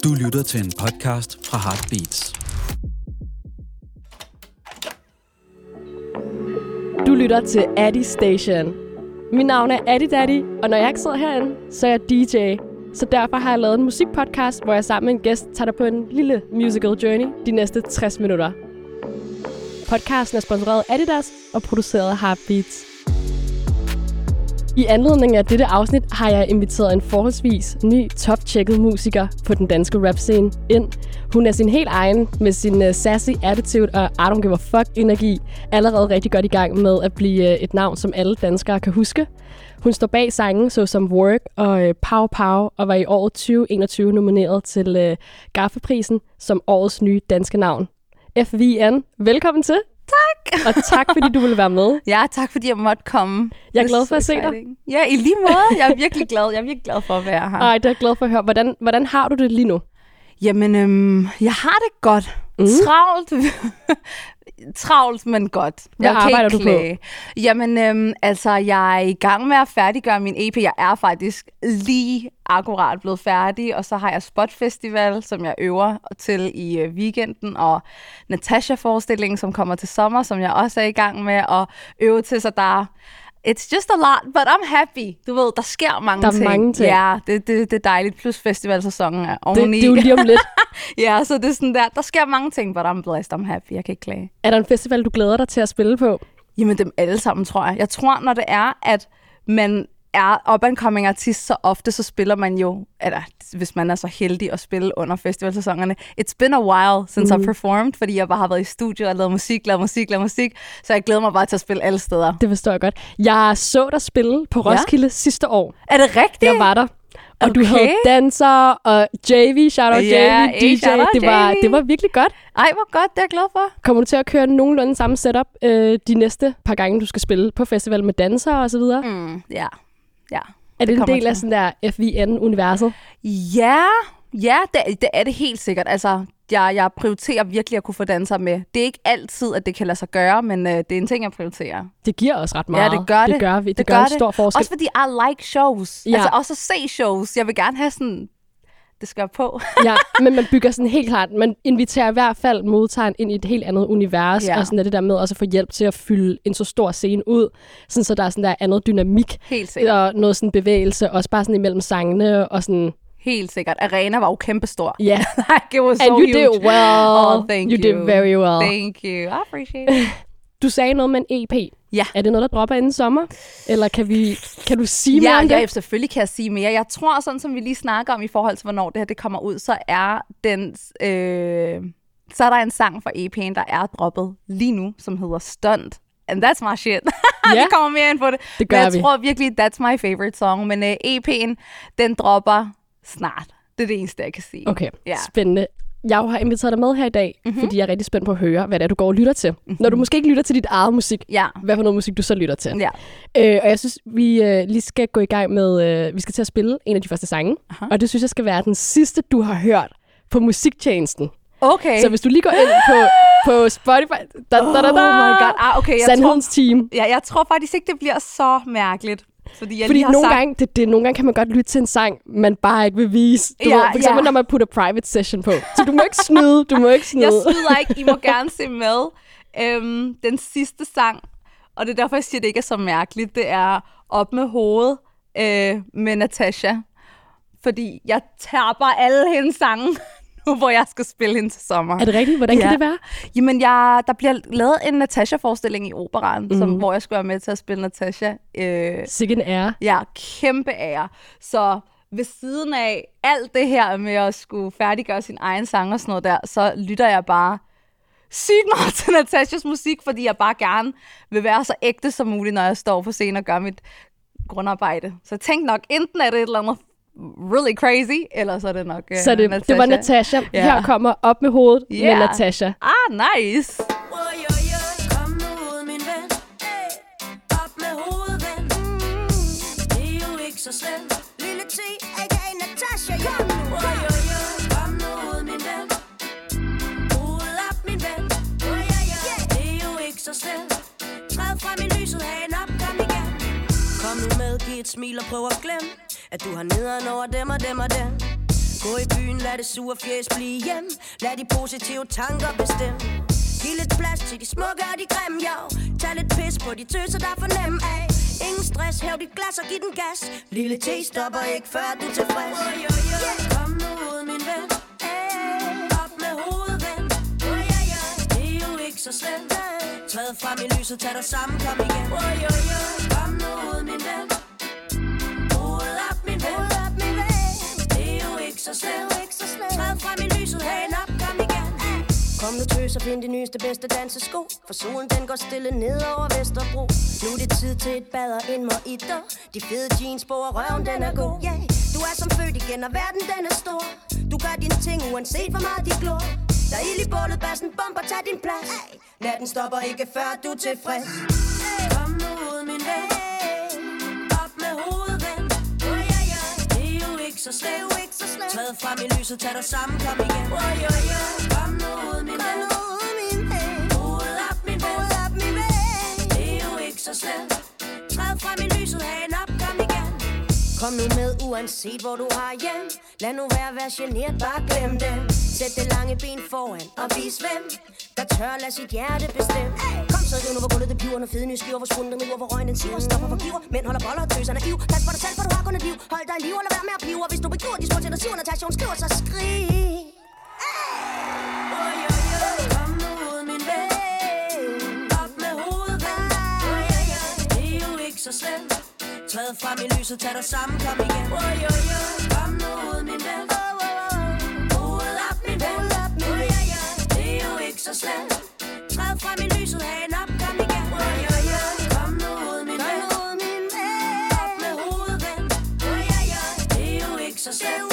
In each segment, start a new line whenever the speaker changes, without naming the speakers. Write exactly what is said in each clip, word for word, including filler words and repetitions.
Du lytter til en podcast fra Heartbeats.
Du lytter til Addy Station. Mit navn er Addy Daddy, og når jeg ikke sidder herinde, så er jeg D J. Så derfor har jeg lavet en musikpodcast, hvor jeg sammen med en gæst tager dig på en lille musical journey de næste tres minutter. Podcasten er sponsoreret af Adidas og produceret af Heartbeats. I anledning af dette afsnit har jeg inviteret en forholdsvis ny, top-tjekket musiker på den danske rap-scene ind. Hun er sin helt egen med sin uh, sassy attitude og I don't give a fuck-energi allerede rigtig godt i gang med at blive uh, et navn, som alle danskere kan huske. Hun står bag sangen såsom Work og uh, Pow Pow og var i året tyve enogtyve nomineret til uh, Gaffaprisen som årets nye danske navn. F V N, velkommen til.
Tak!
Og tak, fordi du ville være med.
Ja, tak, fordi jeg måtte komme.
Jeg er glad for at se dig.
Ja, i lige måde. Jeg er virkelig glad. Jeg er virkelig glad for at være her.
Ej, det er jeg glad for at høre. Hvordan, hvordan har du det lige nu?
Jamen, øhm, jeg har det godt. Mm. Travlt. Travlt, men godt.
Hvad
jeg
arbejder du på?
Jamen, øhm, altså, jeg er i gang med at færdiggøre min E P. Jeg er faktisk lige akkurat blevet færdig, og så har jeg Spot Festival, som jeg øver til i øh, weekenden, og Natasha-forestillingen, som kommer til sommer, som jeg også er i gang med at øve til, så der it's just a lot, but I'm happy. Du ved, der sker mange
der
ting.
Der er mange ting.
Ja, det, det, det er dejligt. Plus festivalsæsonen er oveni.
Det, det er jo lige om lidt.
Ja, så det er sådan der. Der sker mange ting, but I'm blessed, I'm happy. Jeg kan ikke klage.
Er der en festival, du glæder dig til at spille på?
Jamen, dem alle sammen, tror jeg. Jeg tror, når det er, at man er up-and-coming artist, så ofte så spiller man jo, eller hvis man er så heldig at spille under festivalsæsonerne. It's been a while since mm. I've performed, fordi jeg bare har været i studio og lavet musik, lavet musik, lavet musik, så jeg glæder mig bare til at spille alle steder.
Det forstår jeg godt. Jeg så dig spille på Roskilde ja. sidste år.
Er det rigtigt?
Jeg var der. Og
okay.
du havde danser og J V, shout out
yeah,
J V, D J. Det var, det var virkelig godt.
Ej, hvor godt, det er jeg glad for.
Kommer du til at køre nogenlunde samme setup øh, de næste par gange, du skal spille på festival med dansere og så videre?
Mm, ja, ja.
Er det, det en del til. af sådan der F V N-universet?
Ja, ja det, det er det helt sikkert. Altså, jeg, jeg prioriterer virkelig at kunne få dansere med. Det er ikke altid, at det kan lade sig gøre, men øh, det er en ting, jeg prioriterer.
Det giver os ret meget.
Ja, det gør det.
Det gør vi. Det, det
gør
gør en
det.
stor forskel.
Også fordi I like shows.
Ja.
Altså også at se shows. Jeg vil gerne have sådan, det skal jeg på.
Ja, men man bygger sådan helt klart, man inviterer i hvert fald modtageren ind i et helt andet univers, ja. Og sådan er det der med også at få hjælp til at fylde en så stor scene ud, sådan så der er sådan der andet dynamik.
Helt sikkert.
Og noget sådan bevægelse, også bare sådan imellem sangene og sådan.
Helt sikkert. Arena var jo kæmpestor.
Ja. Yeah.
Like, it was
And
so
you
huge.
did well.
Oh, thank
you.
You
did very well.
Thank you. I appreciate it.
Du sagde noget med en E P.
Ja.
Er det noget, der dropper inden sommer? Eller kan, vi, kan du sige mere
ja,
om det?
Ja, selvfølgelig kan jeg sige mere. Jeg tror, sådan som vi lige snakker om i forhold til, hvornår det her det kommer ud, så er den, øh, så er der en sang fra E P'en, der er droppet lige nu, som hedder Stunt. And that's my shit.
Ja.
Vi kommer mere ind på det.
Det gør
men jeg
vi.
tror virkelig, that's my favorite song. Men uh, E P'en, den dropper snart. Det er det eneste, jeg kan sige.
Okay,
ja.
Spændende. Jeg har inviteret dig med her i dag, mm-hmm. fordi jeg er rigtig spændt på at høre, hvad det er, du går og lytter til. Mm-hmm. Når du måske ikke lytter til dit eget musik,
ja.
hvad for noget musik du så lytter til.
Ja.
Øh, og jeg synes, vi øh, lige skal gå i gang med, øh, vi skal til at spille en af de første sange. Aha. Og det synes jeg skal være den sidste, du har hørt på musiktjenesten.
Okay.
Så hvis du lige går ind på, på Spotify, da, da, da, da,
oh my god, ah, okay.
Sandhedens Team.
Ja, jeg tror faktisk ikke, det bliver så mærkeligt. Fordi, jeg
Fordi
lige har
nogle,
sagt...
gange, det, det, nogle gange kan man godt lytte til en sang, man bare ikke vil vise. Du
ja,
ved, for eksempel,
ja.
når man putter private session på. Så du må ikke snyde, du må ikke snyde.
Jeg snyder ikke, I må gerne se med. Øhm, den sidste sang, og det er derfor, jeg siger, det ikke er så mærkeligt, det er Op med hovedet øh, med Natasha. Fordi jeg tapper alle hendes sange, nu hvor jeg skal spille hende til sommer.
Er det rigtigt? Hvordan ja. kan det være?
Jamen, jeg, der bliver lavet en Natasha-forestilling i Operaen, mm. som, hvor jeg skal være med til at spille Natasha. Øh,
Sikke en ære.
Ja, kæmpe ære. Så ved siden af alt det her med at skulle færdiggøre sin egen sang og sådan noget der, så lytter jeg bare sygt meget til Natashas musik, fordi jeg bare gerne vil være så ægte som muligt, når jeg står på scenen og gør mit grundarbejde. Så jeg tænkte nok, enten er det et eller andet really crazy, eller så er det nok uh,
Så det,
Natasha.
det var Natasha.
Yeah.
Her kommer Op med hovedet
yeah.
med Natasha.
Ah, nice.
Kom med hovedet, min ven. Op med hovedet, ven. Det er jo ikke så slemt. Lille T, a k a. Natasha. Kom nu. Kom med hovedet, min ven. Hovedet op, min ven. Det er jo ikke så slemt. Træd frem i lyset, hagen op, kom igen. Kom nu med, giv et smil og prøv at glemme, at du har nederen over dem og dem og dem. Gå i byen, lad det sure fjes blive hjem. Lad de positive tanker bestemme. Giv lidt plads til de smukke og de grimme, jo. Tag lidt pis på de tøser, der er for nem af. Ingen stress, hæv dit glas og giv den gas. Lille T stopper ikke, før du er tilfreds. Yeah. Kom nu ud, min ven. Hey. Op med hovedet, ven. Det er jo ikke så slemt. Træd frem i lyset, tag dig sammen, kom igen. Kom nu ud, min ven. Hovedet op, min ven. Det er jo ikke så slemt. Træd frem i lyset, hagen op, kom igen. Kom nu tøs og find de nyeste bedste dansesko. For solen den går stille ned over Vesterbro. Nu er det tid til et bad og en mojito. De fede jeans på og røven den er god, yeah. Du er som født igen og verden den er stor. Du gør dine ting uanset hvor meget de glor. Der er ild i bålet, bassen bomber, tag din plads. Natten stopper ikke før du er tilfreds. Kom nu ud min ven. Op med hovedet ven. Det er jo ikke så slemt. Træd frem i lyset, tag dig sammen, kom igen. Kom nu ud min ven. Hovedet op min ven. Det er jo ikke så slemt. Træd frem i lyset, hagen op, kom igen. Kom nu med uanset hvor du har hjem. Lad nu være at være generet, bare glem dem. Sæt det lange ben foran og vis hvem der tør lad sit hjerte bestemme. Kom så riv nu hvor gulvet det piver. Når fede nye skiver hvor skunden den river. Hvor røgen den siver. Stopper for giver. Mænd holder boller og tøser naiv. Pas på dig selv for du har kun et liv. Hold dig i liv og lad være med at pive. Og hvis du begiver de små til dig siver. Natasha hun skriver så skrig. Kom nu ud min ven. Op med hovedet ven. Det er jo ikke så slemt. Træd frem i lyset, tag dig sammen, kom igen. Kom nu ud min ven. Hovedet op min ven. Det er jo ikke så slemt. Træd frem i lyset, hagen op, kom igen. Kom nu ud min ven. Op med hovedet ven. Det er jo ikke så slemt.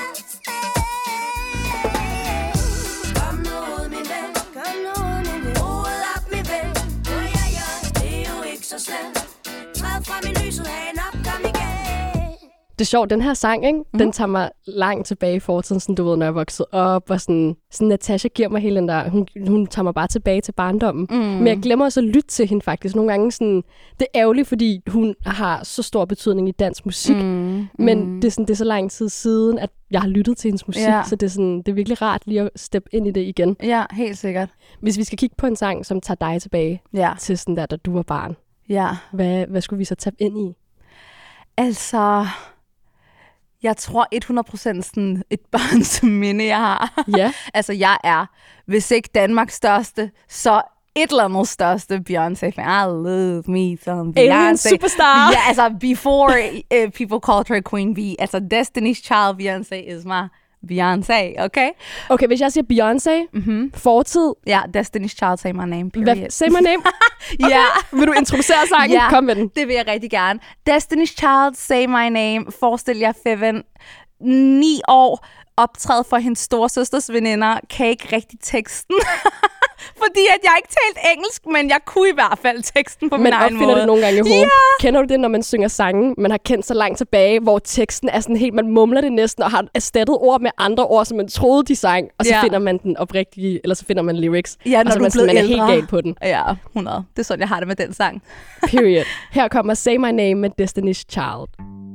Kom nu ud min ven. Hovedet op min ven. Det er jo ikke så slemt. Træd frem i lyset, hagen op, kom igen.
Det er sjovt, den her sang, ikke? Mm. Den tager mig langt tilbage i fortiden, sådan, du ved, når jeg voksede op, og sådan, sådan Natasha giver mig hele den der, hun, hun tager mig bare tilbage til barndommen. Mm. Men jeg glemmer også at lytte til hende faktisk. Nogle gange sådan, det er ærgerligt, fordi hun har så stor betydning i dansk musik, mm. men mm. Det, er sådan, det er så lang tid siden, at jeg har lyttet til hendes musik, ja. Så det er, sådan, det er virkelig rart lige at steppe ind i det igen.
Ja, helt sikkert.
Hvis vi skal kigge på en sang, som tager dig tilbage ja. Til sådan der, da du var barn,
ja.
hvad, hvad skulle vi så tabe ind i?
Altså... Jeg tror hundrede procent sådan et barns minde, jeg har.
Ja.
Altså, jeg er, hvis ikke Danmarks største, så et eller andet største Beyoncé-fan. I love me some Beyoncé.
Alien superstar.
Ja, yeah, altså, before uh, people called her Queen Bee. Altså, Destiny's Child Beyoncé is my Beyoncé, okay?
Okay, hvis jeg siger Beyoncé, mm-hmm. fortid.
Ja, yeah, Destiny's Child, say my name, period.
Hvad, say my name?
Ja. Okay.
Yeah. Vil du introducere sangen?
Ja,
kom med den.
Det vil jeg rigtig gerne. Destiny's Child, say my name. Forestil jer Feven, ni år, optræde for hendes storesøsters veninder, kan ikke rigtig teksten. Fordi at jeg ikke talt engelsk, men jeg kunne i hvert fald teksten på min egen måde.
Man opfinder det nogle gange i hovedet.
Yeah.
Kender du det, når man synger sange, man har kendt så langt tilbage, hvor teksten er sådan helt, man mumler det næsten, og har erstattet ord med andre ord, som man troede, de sang, og så yeah. finder man den oprigtige, eller så finder man lyrics.
Ja, når
og så
du
man,
er blevet
man er
ældre.
helt gal på den.
Ja, hundrede. Det er sådan, jeg har det med den sang.
Period. Her kommer Say My Name med Destiny's Child.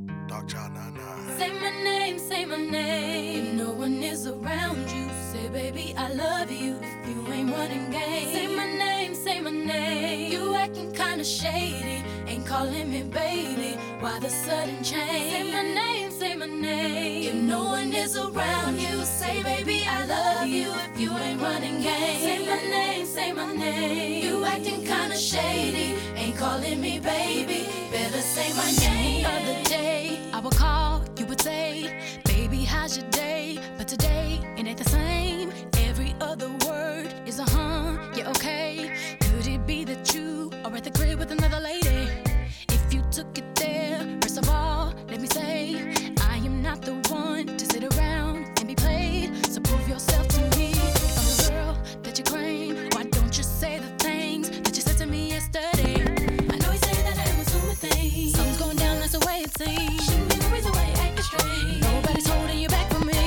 Say my name, say my name. If no one is around you, say baby I love you. If you ain't running game, say my name, say my name. You acting kinda shady, ain't calling me baby. Why the sudden change? Say my name, say my name. If no one is around you, say baby I love you. If you ain't running game, say my name, say my name. You acting kinda shady, ain't calling me baby. Better say my name. The other day I would call, you would say, baby, how's your day? But today, it ain't the same. Every other word is a huh, yeah, okay. Could it be that you are at the crib with another lady? If you took it there, first of all, let me say, I am not the one to sit around and be played. So prove yourself to me. If I'm the girl that you claim, why don't you say the things that you said to me yesterday? I know you say that I am assuming things. Something's going down, that's the way it seems. Shouldn't be the reason why you acting strange. Nobody's holding you back from me.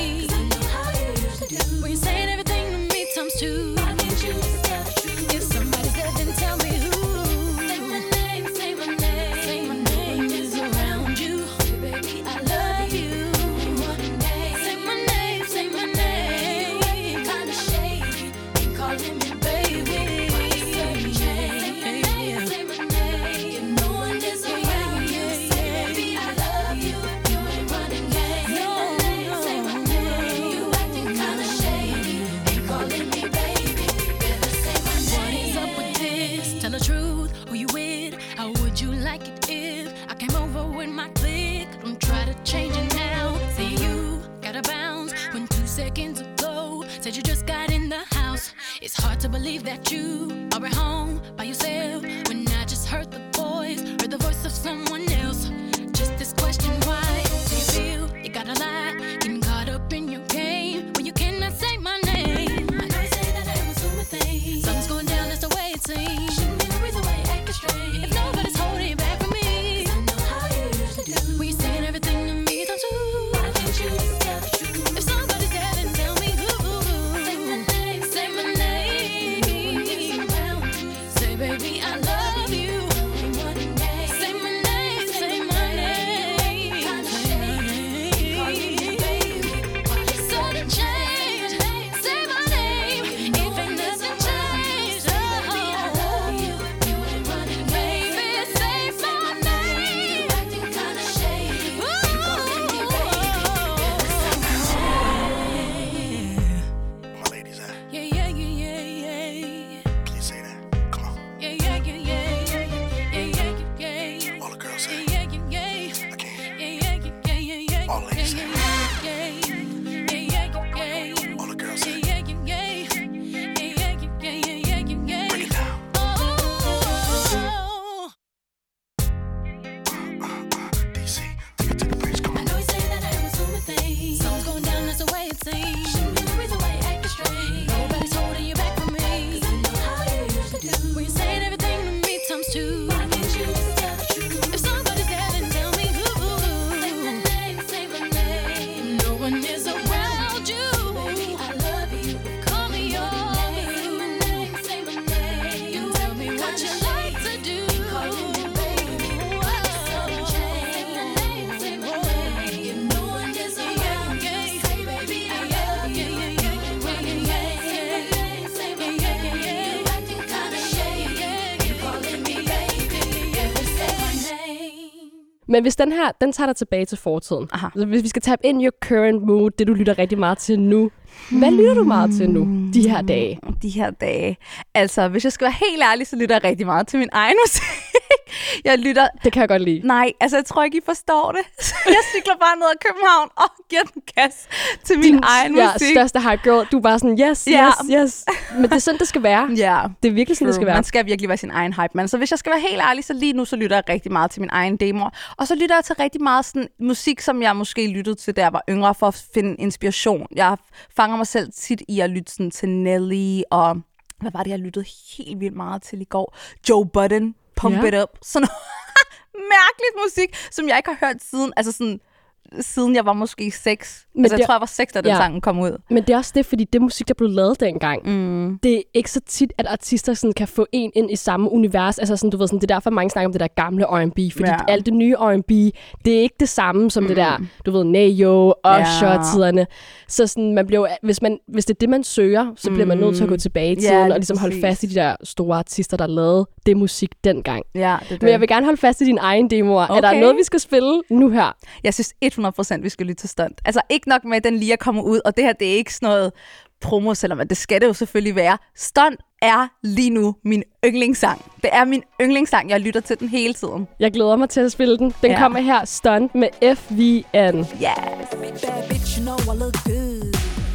said you just got in the house. It's hard to believe that you are at home by yourself when I just heard the voice, heard the voice of someone else. Just this question, why do you feel you gotta lie, getting caught up in your game when you cannot say my name? I know you say that I am assuming things. Something's going down, that's the way it seems. Shouldn't be the reason why you're acting strange. If nobody's holding you back from me, 'cause I know how you usually do. When you're saying everything to me, don't you? Why can't you just tell the truth? If somebody's there, then tell me who. Say my name, say my name. Say, baby, I love you. Say my name, say my name. Sudden change, say my name. Even doesn't change. Oh, baby, say my name. Acting kinda shady.
My ladies at?
Yeah, yeah, yeah, yeah, yeah.
Can you say that? Come on.
Yeah, yeah, yeah, yeah, yeah, yeah, yeah, yeah, yeah.
All the girls say.
Yeah, yeah, yeah, yeah.
I can't.
Yeah, yeah, yeah, yeah, yeah.
All ladies say.
Yeah, yeah, yeah, yeah, yeah.
All the girls say.
Yeah, yeah, yeah, yeah. Yeah, yeah, yeah, yeah, yeah, yeah.
Break it down.
Oh.
D C, take it to the base. Come
I
on.
know you say that I am assuming things. Something's going down, that's the way it seems. Shouldn't be the reason why you're acting strange. Nobody's holding you back from me, 'cause I know how you usually do. When you're saying everything to me times two. Why can't you just tell the truth? If somebody's there, then tell me who. Say my name, say my name. No one is around you. Baby, I love you. Call me yours. Say my name, say my name. You tell me what you like to do. Calling me baby. Sudden change. Say my name, say my name. No one is around you. Say baby, I love you. Say my name, say my name. You acting kinda shady. You calling me baby. Say my name.
Men hvis den her, den tager dig tilbage til fortiden.
Aha.
Altså, hvis vi skal tabe ind i your current mood, det du lytter rigtig meget til nu. Hvad lytter du meget til nu, de her dage?
De her dage. Altså, hvis jeg skal være helt ærlig, så lytter jeg rigtig meget til min egen musik. Jeg lytter...
Det kan jeg godt lide.
Nej, altså, jeg tror ikke, I forstår det. Jeg cykler bare ned ad København og giver den gas til min
Din
egen
ja,
musik.
største hype girl. Du er bare sådan, yes,
Ja.
yes, yes. Men det er sådan, det skal være.
Ja,
Det er virkelig sådan, det skal være.
Man skal virkelig være sin egen hype, man. Så hvis jeg skal være helt ærlig, så lige nu, så lytter jeg rigtig meget til min egen demoer. Og så lytter jeg til rigtig meget sådan musik, som jeg måske lyttede til, da jeg var yngre, for at finde inspiration. Jeg fanger mig selv tit i at lytte sådan til Nelly, og hvad var det, jeg lyttede helt vildt meget til i går? Joe Budden, Pump
Ja.
It Up. Sådan mærkeligt musik, som jeg ikke har hørt siden, altså sådan, siden jeg var måske seks.
Men
Altså, jeg
det-
tror, jeg var seks, da den
Ja.
sangen kom ud.
Men det er også det, fordi det musik, der blev lavet dengang,
Mm.
det er ikke så tit, at artister sådan kan få en ind i samme univers. Altså sådan, du ved, sådan, det er derfor, mange snakker om det der gamle R and B, fordi
Ja.
alt det nye R and B, det er ikke det samme som mm. det der, du ved, Nayo, Usher-tiderne. Så sådan, man bliver, hvis, man, hvis det er det, man søger, så bliver man nødt til at gå tilbage i
Ja,
tiden,
lige
og ligesom holde
præcis.
fast i de der store artister, der lavede det musik dengang.
Ja, det er det.
Men jeg vil gerne holde fast i din egen demoer. Okay. Er der
Okay.
noget, vi skal spille nu her?
Jeg synes hundrede procent, vi skal lytte til Stunt. Altså ikke nok med, at den lige er kommet ud, og det her, det er ikke sådan noget promo, selvom det skal det jo selvfølgelig være. Stunt er lige nu min yndlingssang. Det er min yndlingssang. Jeg lytter til den hele tiden.
Jeg glæder mig til at spille den. Den
Ja.
kommer her, Stunt med F V N.
Yes.
Bad bitch, you know I look good.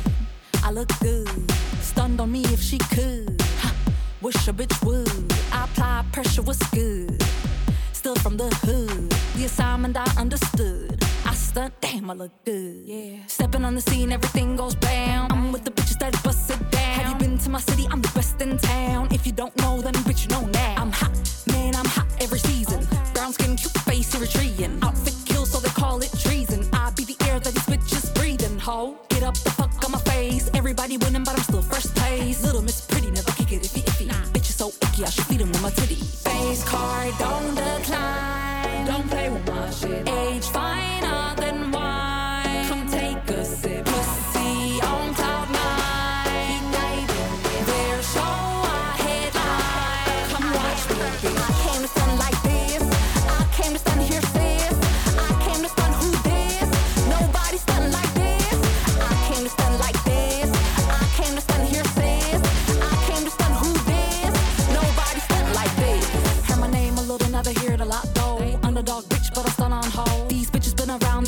I look good. Stunned on me if she could. Ha, wish a bitch would. I apply pressure was good. Still from the hood. The assignment I understood. I stunt, damn, I look good. Yeah. Stepping on the scene, everything goes bam. I'm with the bitches that bust it down. Have you been to my city? I'm the best in town. If you don't know, then bitch, you know now. I'm hot, man, I'm hot every season. Brown skin, cute face, Eritrean. Outfit kill, so they call it treason. I be the air that these bitches breathing. Ho, get up the fuck on my face. Everybody winning, but I'm still first place. Little Miss Pretty, never kick it iffy iffy. Nah. Bitch is so icky, I should feed him with my titty. Face card, don't decline. Don't play with my shit. Age finer than wine. Come take a sip. Pussy on cloud nine. Their show I headline. Come watch me. I came to stun like this. I came to stun here, sis. I came to stun who this. Nobody stun like this. I came to stun like this. I came to stun here, sis. I came to stun who this. Nobody stun like this. Heard my name a little, never hear it a lot though. Underdog bitch, but I stun on hold. These bitches been around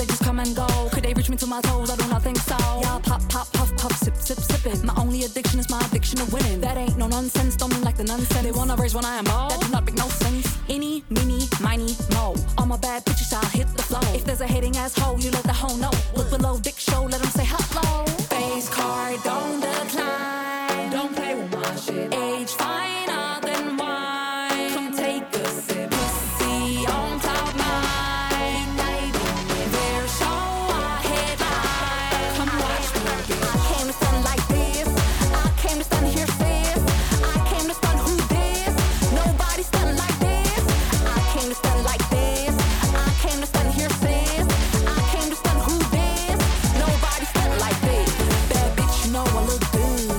think so. Y'all pop, pop, puff, puff, sip, sip, sip it. My only addiction is my addiction to winning. That ain't no nonsense, don't mean like the nonsense. They wanna raise when I am bald. That do not make no sense. Any, meeny, miny, mo. All my bad bitches, I'll hit the flow. If there's a hating asshole, you let the hoe know. Look below, dick show, let them say hello. Face card, don't decline. Don't play with my shit. Age finer than wine. Come take a sip. Pussy on cloud nine. Their show, I headline. Come watch me. I came to stun like this. I came to stun here, sis. I came to stun who this. Nobody stun like this. I came to stun like this. I came to stun here, sis. I came to stun who this. Nobody stun like this. Bad bitch, you know I look good.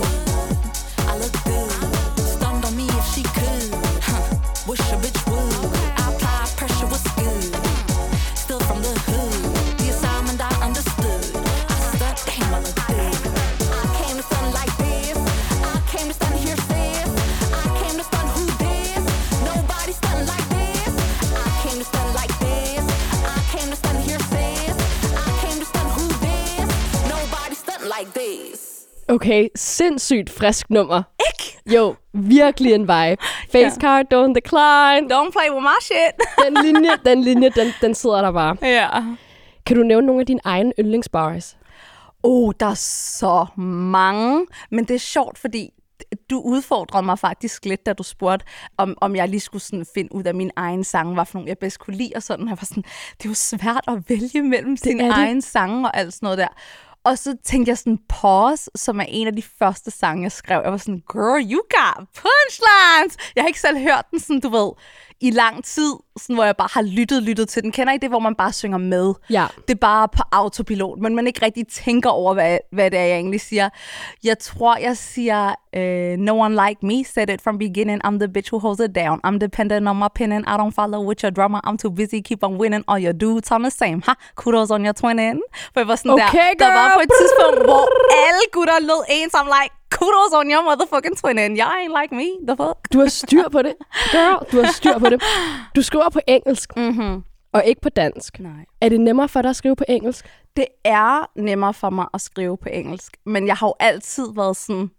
I look good. Stunned on me if she could. Huh. Wish a bitch would. I apply pressure was good. Still from the hood. The assignment I understood. I stunt, damn, I look good. I came to stun like this. I came to stun here, sis. I came to stun who this. Nobody stun like this. I came to stun like this. I came to stun here, sis. I came to stun who this. Nobody stun like this.
Okay, sindssygt frisk nummer. Ikke? Jo, virkelig en vibe. Face card, don't decline.
Don't play with my shit.
Den linje, den linje, den, den sidder der bare.
Ja.
Kan du nævne nogle af dine egne yndlingsbars?
Oh, der er så mange. Men det er sjovt, fordi du udfordrede mig faktisk lidt, da du spurgte, om, om jeg lige skulle sådan finde ud af min egen sange, hvad for nogle jeg bedst kunne lide og sådan. Jeg var sådan, det er jo svært at vælge mellem sin egen sange og alt sådan noget der. Og så tænkte jeg sådan, Pause, som er en af de første sange, jeg skrev. Jeg var sådan, girl, you got punchlines! Jeg har ikke selv hørt den sådan, du ved, i lang tid, sådan, hvor jeg bare har lyttet, lyttet til den. Kender I det, hvor man bare synger med?
Ja.
Det er bare på autopilot, men man ikke rigtig tænker over, hvad, hvad det er, jeg egentlig siger. Jeg tror, jeg siger, uh, no one like me, said it from beginning. I'm the bitch who holds it down. I'm dependent on my opinion. I don't follow with your drama. I'm too busy, keep on winning. All your dudes on the same. Ha, kudos on your twinning. For jeg var sådan
okay,
der,
girl.
der var på et tidspunkt, hvor alle gutter lød ens. I'm like, kudos on your motherfucking twinning. You ain't like me, the fuck.
Du har styr på det. Girl, du har styr på det. Du skriver på engelsk,
Mm-hmm.
og ikke på dansk.
Nej.
Er det nemmere for dig at skrive på engelsk?
Det er nemmere for mig at skrive på engelsk, men jeg har jo altid været sådan,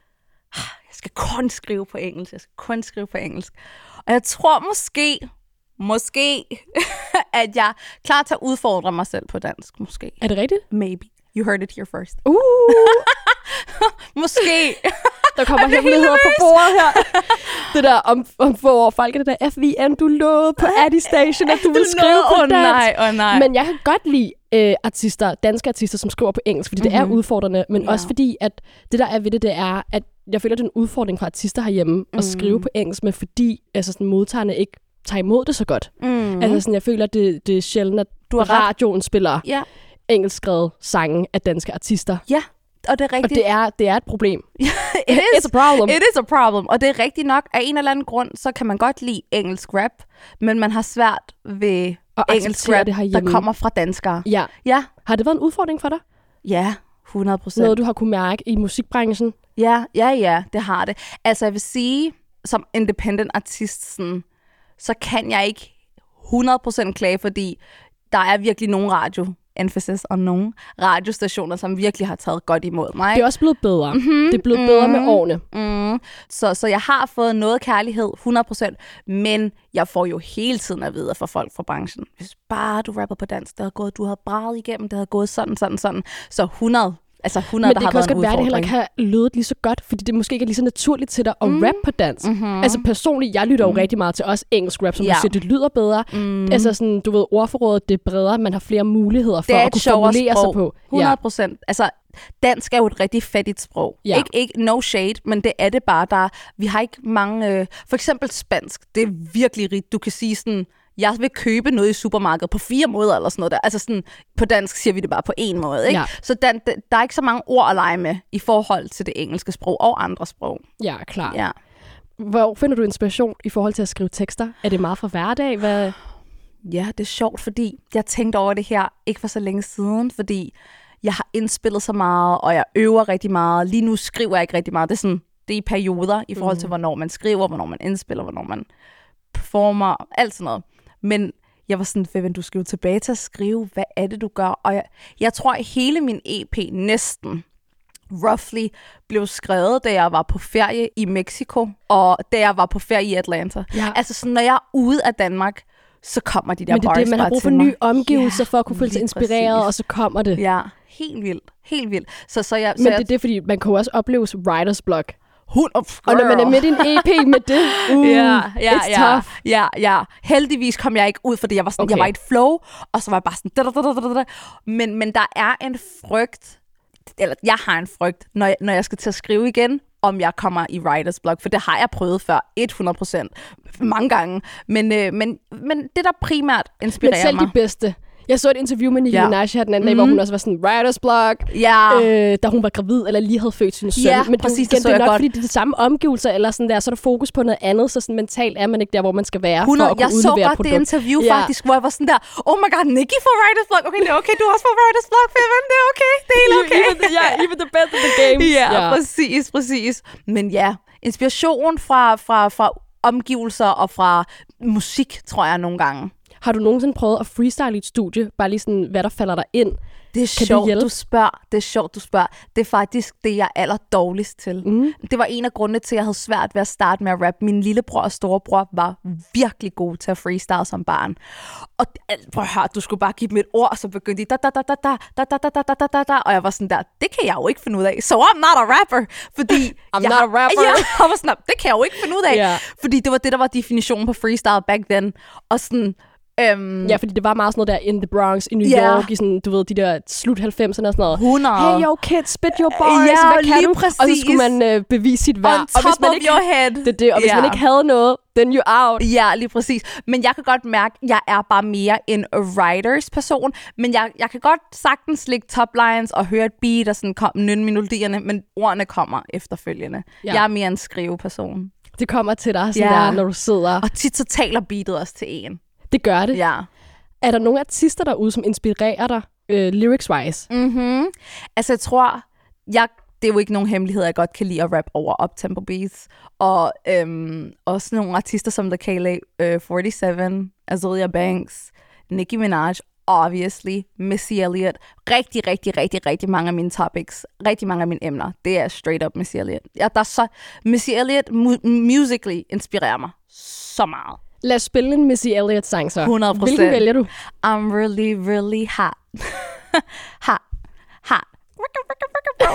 jeg skal kun skrive på engelsk, jeg skal kun skrive på engelsk. Og jeg tror måske, måske, at jeg er klar til at udfordre mig selv på dansk, måske.
Er det rigtigt?
Maybe. You heard it here first.
Uh,
Måske.
der kommer hemmeligheder på bordet her. Det der om, om få år, folk er det der F V N, du lovede på Addy Station, at du vil skrive på
Åh
dansk.
nej, åh nej.
Men jeg kan godt lide øh, artister, danske artister, som skriver på engelsk, fordi mm-hmm. det er udfordrende, men
Ja.
også fordi, at det der er ved det, det er, at jeg føler, det er en udfordring for artister herhjemme mm. at skrive på engelsk, men fordi altså, sådan, modtagerne ikke tager imod det så godt.
Mm.
Altså sådan, jeg føler, at det, det er sjældent, at
Du har ret.
radioen spiller
Ja.
engelskskrevet sange af danske artister.
Ja, og det er
Og
rigtigt.
det er, det er et problem.
It
It's a problem.
It is a problem. Og det er rigtigt nok. Af en eller anden grund, så kan man godt lide engelsk rap, men man har svært ved
Og
engelsk
acceptere
rap,
det herhjemme.
der kommer fra danskere.
Ja.
Ja,
Har det været en udfordring for dig?
ja, hundrede procent.
Noget, du har kunne mærke i musikbranchen?
Ja, ja, ja, det har det. Altså, jeg vil sige, som independent artist, sådan, så kan jeg ikke hundrede procent klage, fordi der er virkelig nogle radio, emphasis on nogle radiostationer, som virkelig har taget godt imod mig.
Det er også blevet bedre. Mm-hmm. Det er blevet mm-hmm. bedre med årene.
Mm. Så, så jeg har fået noget kærlighed, hundrede procent, men jeg får jo hele tiden at vide fra folk fra branchen, hvis bare du rapper på dansk, det havde gået, du havde braget igennem, det havde gået sådan, sådan, sådan. Så hundrede, altså hundrede,
Men
der
det
har
kan også
været en
godt være, at det heller
udfordring.
ikke har lydet lige så godt, fordi det måske ikke er lige så naturligt til dig at mm. rappe på dansk. Mm-hmm. Altså personligt, jeg lytter jo
Mm.
rigtig meget til også engelsk rap, som
Ja.
du siger, det lyder bedre. Mm. Altså sådan, du ved, ordforrådet, det er bredere, man har flere muligheder for
Det er
at
et
kunne
sjovere
formulere sig
sprog.
på.
hundrede procent. Altså, dansk er jo et rigtig fattigt sprog.
Ja.
Ikke, ikke no shade, men det er det bare. Der, vi har ikke mange... Øh, for eksempel spansk, det er virkelig rigt. Du kan sige sådan, jeg vil købe noget i supermarkedet på fire måder eller sådan noget der. Altså sådan, på dansk siger vi det bare på én måde. Ikke?
Ja.
Så den, der er ikke så mange ord at lege med i forhold til det engelske sprog og andre sprog.
Ja, klart.
Ja.
Hvor finder du inspiration i forhold til at skrive tekster? Er det meget fra hverdag? Hvad...
Ja, det er sjovt, fordi jeg tænkte over det her ikke for så længe siden, fordi jeg har indspillet så meget, og jeg øver rigtig meget. Lige nu skriver jeg ikke rigtig meget. Det er, sådan, det er i perioder i forhold til, hvornår man skriver, hvornår man indspiller, hvornår man performer, alt sådan noget. Men Jeg var sådan, Vivian, du skal jo tilbage til at skrive, hvad er det, du gør? Og jeg, jeg tror, at hele min E P næsten, roughly, blev skrevet, da jeg var på ferie i Mexico, og da jeg var på ferie i Atlanta.
Ja.
Altså, sådan, når jeg er ude af Danmark, så kommer de der
Men det er
bars
det, man har
bare
brug for
til mig.
nye omgivelser
Ja,
for at kunne føle sig
lige
inspireret,
præcis.
og så kommer det.
Ja, helt vildt. Helt vildt. Så, så jeg, så
Men
jeg,
det er det, fordi man kan jo også opleve writer's block.
Hun, oh,
Og når man er midt i en E P med det, uh,
ja, ja,
it's
ja,
tough.
ja, ja. Heldigvis kom jeg ikke ud, fordi jeg var, sådan,
Okay.
jeg var i et flow, og så var jeg bare sådan... Da, da, da, da, da. Men, men der er en frygt, eller jeg har en frygt, når jeg, når jeg skal til at skrive igen, om jeg kommer i writer's block, for det har jeg prøvet før, hundrede procent, mange gange. Men, øh, men, men det, der primært inspirerer
Men selv
mig...
de bedste. Jeg så et interview med Nicki
Ja.
Minaj her den anden dag,
Mhm.
hvor hun også var sådan writer's block,
Ja,
øh, da hun var gravid, eller lige havde født sin søn.
Ja,
Men det,
præcis,
igen,
det så
det er
jeg
nok,
godt.
fordi det er de samme omgivelser, eller sådan der, så er der fokus på noget andet, så sådan mentalt er man ikke der, hvor man skal være,
hundrede
for at kunne
Jeg så
udlevere
godt
produkt.
det interview
Ja.
faktisk, hvor jeg var sådan der, oh my god, Nicki får writer's block. Okay, det er okay, du har også får writer's block, Vivian, det er okay, det er helt okay.
Even the, yeah, even the best of the game.
Ja, ja, præcis, præcis. Men ja, inspiration fra, fra, fra omgivelser og fra musik, tror jeg nogle gange.
Har du nogensinde prøvet at freestyle i et studie? Bare lige sådan, hvad der falder dig ind?
Det er
Kan det
sjovt,
hjælpe?
du spørger. Det er sjovt, du spørger. Det er faktisk det, jeg er aller dårligst til.
Mm.
Det var en af grundene til, at jeg havde svært ved at starte med at rappe. Min lillebror og storebror var virkelig gode til at freestyle som barn. Og prøv at høre, du skulle bare give dem et ord, og så begyndte de da da da da da da da da da da da da, og jeg var sådan der, det kan jeg jo ikke finde ud af. So I'm not a rapper, fordi
I'm
jeg,
not a rapper.
Ja, jeg var sådan, det kan jeg jo ikke finde ud af,
Ja.
fordi det var det, der var definitionen på freestyle back then. Og sådan, øhm,
Ja, fordi det var meget sådan noget der in the Bronx, i New
Ja.
York, i sådan, du ved, de der slut halvfemserne og sådan noget.
hundrede
Hey, yo, kid, spit your bars.
Ja,
Hvad kan
lige
du?
præcis.
Og så skulle man øh, bevise sit værd.
on
og
top
hvis man
of
ikke,
your head.
det, er det, og hvis
Ja.
man ikke havde noget, then you out.
Ja, lige præcis. Men jeg kan godt mærke, at jeg er bare mere en writers person. Men jeg, jeg kan godt sagtens lægge toplines og høre et beat og sådan kom, nynne melodierne, men ordene kommer efterfølgende.
Ja.
Ja. Jeg er mere en skriveperson.
Det kommer til dig, sådan
Ja.
der, når du sidder.
Og tit så taler beatet også til en.
Det gør det.
Ja.
Er der nogle artister derude, som inspirerer dig øh, lyrics-wise?
Mm-hmm. Altså, jeg tror, jeg, det er jo ikke nogen hemmelighed, jeg godt kan lide at rap over up-tempo beats. Og øhm, også nogle artister som The Kayla øh, forty-seven, Azealia Banks, Nicki Minaj, obviously, Missy Elliott. Rigtig, rigtig, rigtig, rigtig mange af mine topics, rigtig mange af mine emner, det er straight up Missy Elliott. Ja, der er så, Missy Elliott mu- musically inspirerer mig så meget.
Lad os spille en Missy Elliott-sang så.
hundrede procent.
Hvilken vælger du?
I'm really, really hot. hot. Hot. Ricka, ricka, ricka, bro.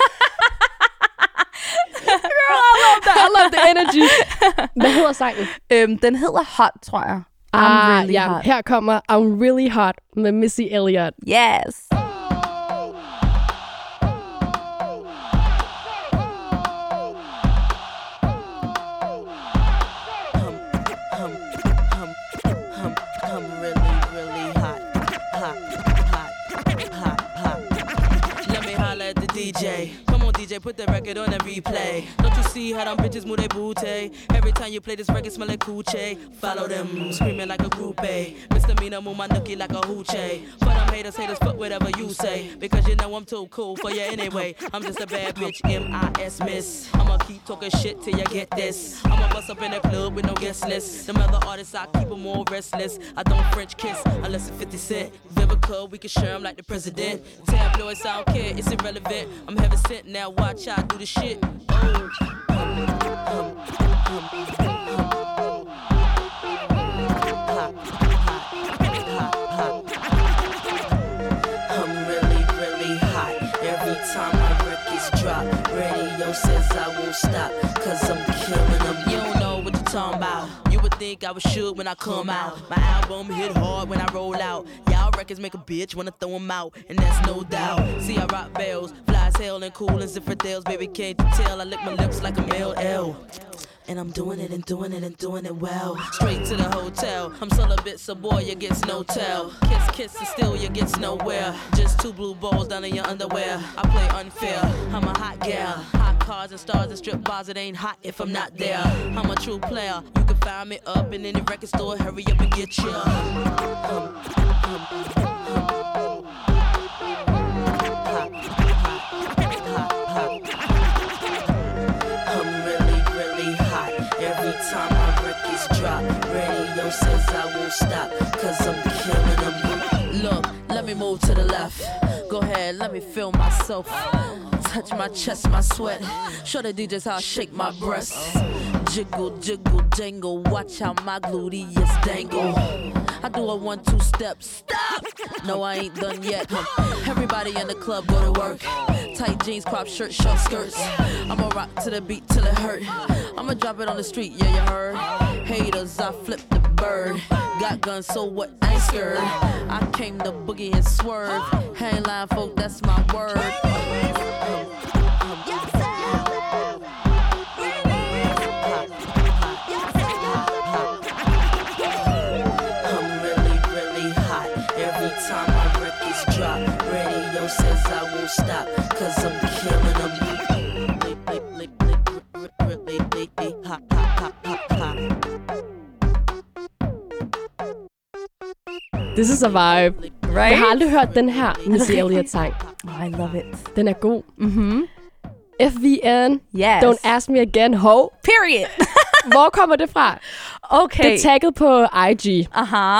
I love that. I love the energy. Hvad hedder sangen?
øhm, den hedder Hot, tror jeg. I'm
Ah,
really
ja.
hot.
Her kommer I'm Really Hot med Missy Elliott.
Yes.
I'm really, really hot, hot, hot, hot, hot. Let me holla at the D J. Come on, D J, put the record on and replay. Don't you see how them bitches move their booty? Every time you play this record, smell like coochie. Follow them, screaming like a groupie. Misdemeanor, move my nookie like a hoochie. For them haters, haters, fuck whatever you say. Because you know I'm too cool for you anyway. I'm just a bad bitch, M I S miss. I'ma keep talking shit till you get this. I'ma bust up in the club with no guest list. Them other artists, I keep them all restless. I don't French kiss unless it's fifty cent. Vivica, we can share them like the president. Tabloids, I don't care, it's irrelevant. I'm heaven sent, now watch I do the shit. Oh. Hum, hum, hum, hum. Hot, hot, hot, hot. I'm really, really hot. Every time my records drop, radio says I won't stop. Cause I'm killing them. You don't know what you're talking about. You would think I was shook when I come out. My album hit hard when I roll out. Y'all records make a bitch wanna throw them out, and that's no doubt. See, I rock bells, fly as hell and cool as infidels. Baby, can't you tell? I lick my lips like a male L. And I'm doing it and doing it and doing it well. Straight to the hotel. I'm celibate, so boy, you gets no tell. Kiss, kiss, and still you gets nowhere. Just two blue balls down in your underwear. I play unfair. I'm a hot gal. Hot cars and stars and strip bars. It ain't hot if I'm not there. I'm a true player. You can find me up in any record store. Hurry up and get ya. Um, um, um, um. Hot, hot, hot, hot. I'm really, really hot. Every time my records drop, radio says I won't stop, cause I'm killing them. Look, let me move to the left. Go ahead, let me feel myself. Touch my chest, my sweat. Show the D Js how I shake my breasts. Jiggle, jiggle, jangle. Watch how my gluteus dangle. I do a one, two step. Stop! No, I ain't done yet. Everybody in the club go to work. Tight jeans, crop shirt, short skirts. I'ma rock to the beat till it hurt. I'ma drop it on the street, yeah, you heard. Haters, I flip the bird. Got guns, so what? I ain't scared. I came to boogie and swerve. Hang line, folk, that's my word. Says I won't stop, cause I'm killing them.
This is a vibe.
Right?
Jeg har aldrig hørt den her Missy Elliott-sang.
Oh, I love it.
Den er god.
Mm-hmm.
F V N,
Yes.
Don't Ask Me Again, ho.
Period.
Hvor kommer det fra?
Okay.
Det er tagget på I G.
Aha.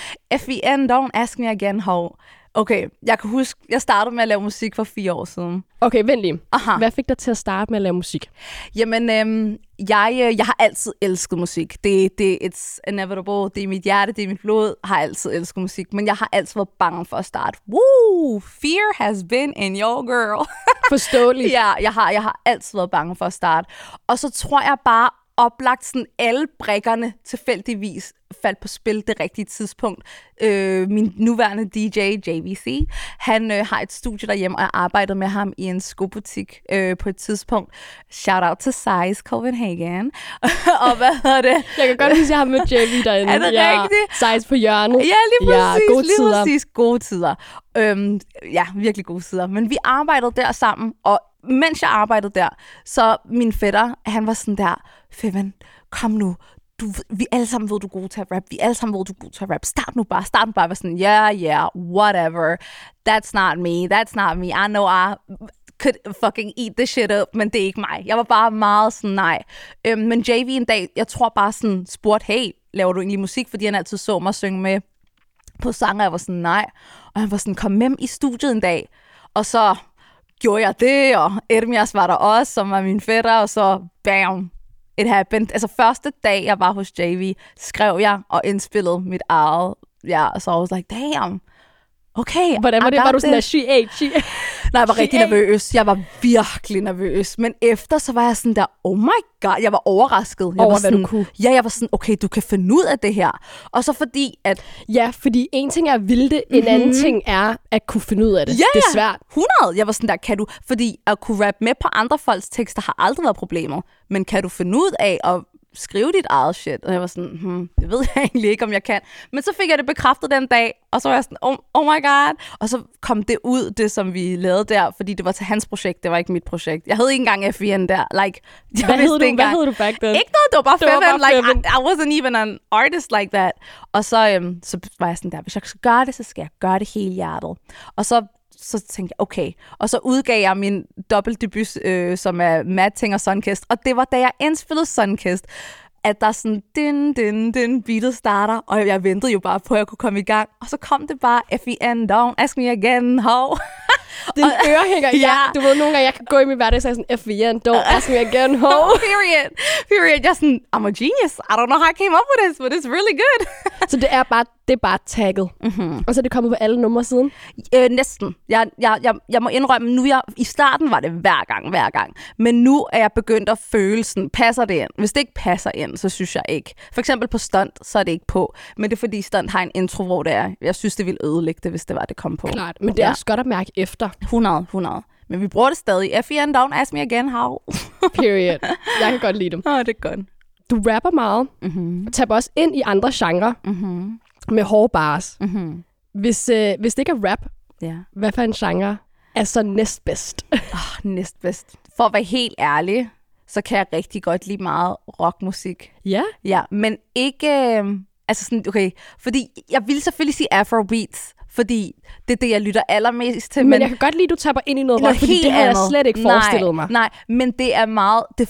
F V N, Don't Ask Me Again, ho. Okay, jeg kan huske, jeg startede med at lave musik for fire år siden.
Okay, vent lige.
Aha.
Hvad fik dig til at starte med at lave musik?
Jamen, øhm, jeg, øh, jeg har altid elsket musik. Det, det it's inevitable. Det er mit hjerte, det er mit blod. Jeg har altid elsket musik, men jeg har altid været bange for at starte. Woo! Fear has been in your girl.
Forståeligt.
Ja, jeg har, jeg har altid været bange for at starte. Og så tror jeg bare, oplagt sådan alle brikkerne tilfældigvis faldt på spil det rigtige tidspunkt. Øh, min nuværende D J, J V C, han øh, har et studie derhjemme, og jeg arbejdede med ham i en skobutik øh, på et tidspunkt. Shout out til Size Copenhagen. Og hvad hedder det?
Jeg kan godt huske, at jeg har mødt J V derinde.
Er det
ja,
rigtigt?
Size på hjørnet.
Ja, lige præcis.
Ja, gode
lige
tider.
præcis. Gode tider. Øhm, ja, virkelig gode tider. Men vi arbejdede der sammen, og mens jeg arbejdede der, så min fætter, han var sådan der, Feven, kom nu, du, vi alle sammen ved, du er god til at rap, vi alle sammen ved, du er god til at rap, start nu bare, start nu bare, var sådan, yeah, yeah, whatever, that's not me, that's not me, I know I could fucking eat this shit up, men det er ikke mig. Jeg var bare meget sådan, nej. Øhm, men J V en dag, jeg tror bare sådan, spurgte, hey, laver du egentlig musik, fordi han altid så mig synge med på sanger, jeg var sådan, nej, og han var sådan, kom med i studiet en dag, og så gjorde jeg det, og Ermias var der også, som var min fætter, og så bam, it happened. Altså første dag, jeg var hos J V, skrev jeg og indspillede mit eget, ja, og så I was like, damn, okay,
Hvordan var
I
det?
got
Var du sådan, at
this.
she ate, she ate?
Nej, jeg var rigtig nervøs. Jeg var virkelig nervøs. Men efter, så var jeg sådan der, oh my god, jeg var overrasket. Jeg
Over,
var
hvad
sådan,
du kunne.
Ja, jeg var sådan, okay, du kan finde ud af det her. Og så fordi, at
Ja, fordi en ting er at ville det, en
Mhm.
anden ting er at kunne finde ud af det.
Ja,
Det er
ja.
svært.
hundrede. Jeg var sådan der, kan du... Fordi at kunne rappe med på andre folks tekster har aldrig været problemet. Men kan du finde ud af at skrive dit eget shit? Og jeg var sådan, hmm, det ved jeg egentlig ikke, om jeg kan. Men så fik jeg det bekræftet den dag, og så var jeg sådan, oh, oh my god. Og så kom det ud, det som vi lavede der, fordi det var til hans projekt, det var ikke mit projekt. Jeg hed ikke engang F V N der. Like, jeg
Hvad
vidste
hed du,
ikke
hvad
engang-
hed du back then?
Ikke noget, det var bare
Det var
Feven.
bare
Like,
Feven.
I, I wasn't even an artist like that. Og så, øhm, så var jeg sådan der, hvis jeg skal gøre det, så skal jeg gøre det hele hjertet. Og så så tænkte jeg, okay. Og så udgav jeg min dobbeltdebut, øh, som er Matting og Sunkist. Og det var, da jeg indspillede Sunkist, at der sådan, din, din, din, beatet starter. Og jeg ventede jo bare på, at jeg kunne komme i gang. Og så kom det bare, F V N, don't ask me again, how?
Din ørehænger, ja.
Ja.
Du ved, nogle gange, jeg kan gå i min hverdag og sige sådan, F V N, don't ask me again, ho.
Oh, period. Period. Jeg er sådan, I'm a genius. I don't know how I came up with this, but it's really good.
Så det er bare, det er bare tagget. Mm-hmm. Og så er det kommet på alle numre siden.
Øh, næsten. Jeg, jeg, jeg, jeg må indrømme, nu jeg, i starten var det hver gang, hver gang. Men nu er jeg begyndt at føle sådan, passer det ind? Hvis det ikke passer ind, så synes jeg ikke. For eksempel på stunt, så er det ikke på. Men det er fordi stunt har en intro, hvor det er. Jeg synes, det ville ødelægge det, hvis det var, det kom på.
Klart, men det er
Ja.
også godt at mærke efter.
hundrede, hundrede. Men vi bruger det stadig. F V N, don't ask me again, how?
Period. Jeg kan godt lide dem.
Åh, oh, det er godt.
Du rapper meget.
Mm-hmm.
Og taber også ind i andre genrer.
Mm-hmm.
Med hårde bars.
Mm-hmm.
Hvis, øh, hvis det ikke er rap,
Ja.
hvad for en genre er så næstbedst?
Oh, næstbedst. For at være helt ærlig, så kan jeg rigtig godt lide meget rockmusik.
Ja.
Ja, men ikke... Øh, altså sådan, okay, fordi jeg vil selvfølgelig sige afrobeats, fordi det er det, jeg lytter allermest til.
Men, men jeg kan godt lide, at du taber ind i noget rock, fordi det har jeg
andet.
slet ikke
nej,
forestillet mig.
Nej, men det er meget... Det,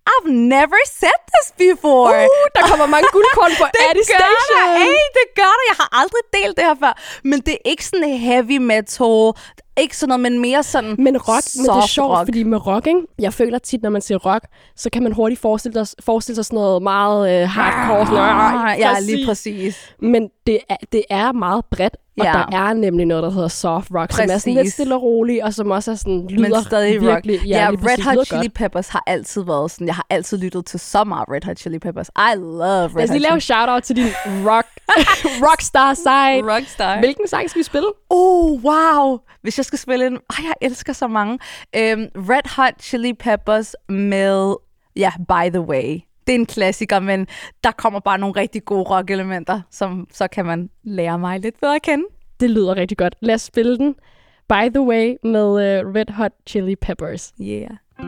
I've never said this before.
Uh, der kommer mange guldkorn på Addy Station.
Det gør der, ey, det gør der. Jeg har aldrig delt det her før. Men det er ikke sådan heavy metal, ikke sådan noget, men mere sådan
Men rock, men det er sjovt,
rock.
fordi med rock, ikke? Jeg føler tit, når man siger rock, så kan man hurtigt forestille, sig, forestille sig sådan noget meget øh, hardcore. Sådan,
Ah, ja, lige præcis.
Men det er, det er meget bredt, og
Ja.
der er nemlig noget, der hedder soft rock, som er sådan
Præcis.
lidt stille og rolig, og som også er sådan, lyder
Men stadig
virkelig...
rock. Ja,
lige præcis,
Red Hot
lyder
Chili
godt.
Peppers har altid været sådan, jeg har altid lyttet til så meget Red Hot Chili Peppers. I love Red
Lad os
Hot
lige lave
Chili
shout-out til din rock, rockstar side.
Rockstar.
Hvilken sang skal vi spille?
Oh, wow. Hvis jeg skal spille en... Ej, jeg elsker så mange. Øhm, Red Hot Chili Peppers med... Ja, By The Way. Det er en klassiker, men der kommer bare nogle rigtig gode rock-elementer, som så kan man lære mig lidt bedre at kende.
Det lyder rigtig godt. Lad os spille den. By The Way med uh, Red Hot Chili Peppers.
Yeah.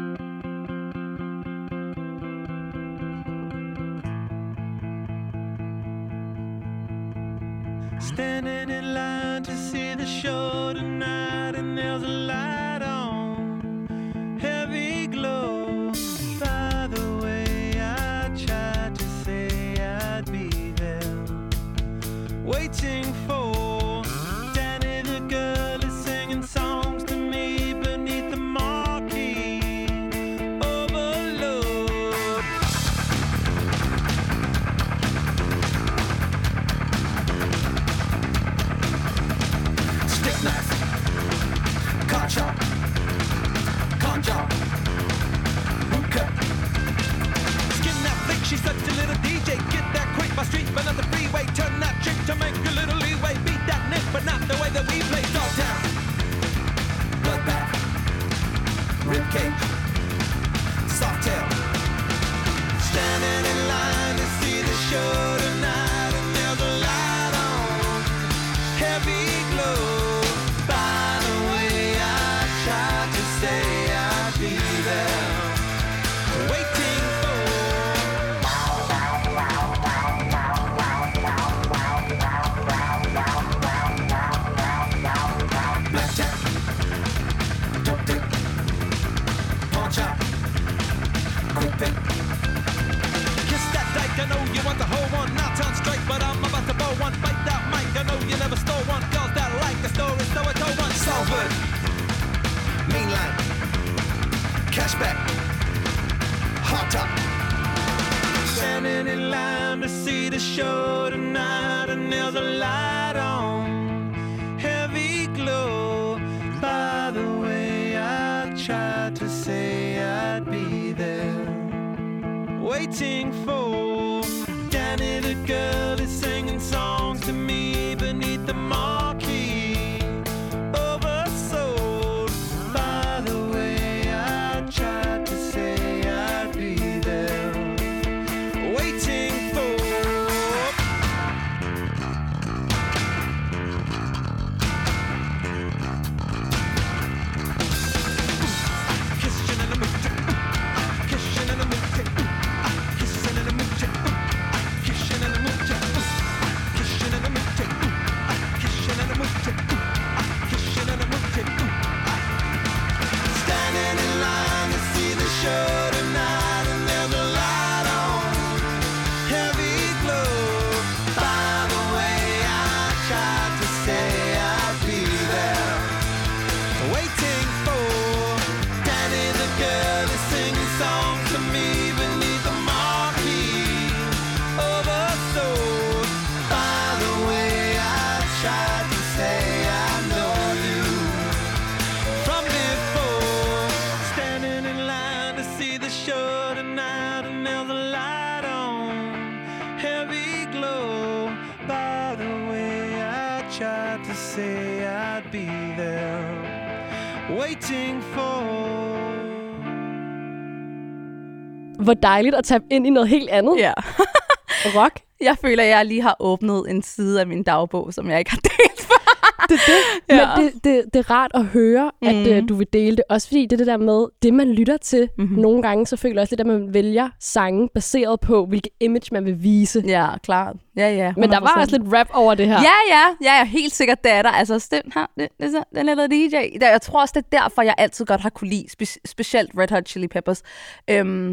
Standing in line to see the show tonight, and there's a light on, heavy glow. By the way, I tried to say I'd be there, waiting for Danny the girl is singing songs to me beneath the marquee. Overload. Stick knife, car chop, con job, hookah. Skin that flick, she's such a little D J. Get that quick, my street, but not the freeway. Turn that trick to make a little leeway. Beat that nick, but not the way that we play. Dogtown, bloodbath, ribcage, soft tail. Standing in line to see the show tonight, and there's a light on, heavy glow. By the way, I tried to say I'd be there, waiting for. Blackjack, dope dick, pawn chop, quick pick. Kiss that dyke, I know you want the whole one. Now turn straight, but I'm about to bow one. Bite that mic, I know you never stole one. Girls that like the story, so I told one. Salford, mean line, cashback, hot top. Standing in line to see the show tonight, and there's a light on, heavy glow. By the way, I tried to say I'd be there, waiting for Danny the girl is singing songs to me beneath the marquee. Oversold. By the way, I tried to say I'd be there, waiting for. Kissing in the mood, kissing in the mood, kissing in the mood, kissing in the mood, kissing in the mood, kissing in the mood, kissing in the mood. Standing in line to see the show tonight, and there's a light on, heavy glow. By the way, I tried to say I'd be there, waiting for Danny the girl is singing songs to me beneath the marquee. Oversold. By the way, I tried to say I know you from before. Standing in line to see the show tonight, and there's a light on, heavy glow. By the way, I tried to say I'd be there, waiting for.
Hvor dejligt at tabe ind i noget helt andet.
Ja.
Rock.
Jeg føler, at jeg lige har åbnet en side af min dagbog, som jeg ikke har delt før.
Det er det.
Ja.
Men det, det, det er rart at høre, at
Mhm.
øh, du vil dele det. Også fordi det er det der med, det man lytter til.
Mhm.
Nogle gange, så føler jeg også lidt, at man vælger sange baseret på, hvilket image man vil vise.
Ja, klart. Ja, ja.
Men der var også lidt rap over det her.
Ja, ja. Ja, ja, helt sikkert, det er der. Altså, den her, det, det, det, den lille D J. Der, jeg tror også, det er derfor, jeg altid godt har kunne lide, spe- specielt Red Hot Chili Peppers. Øhm,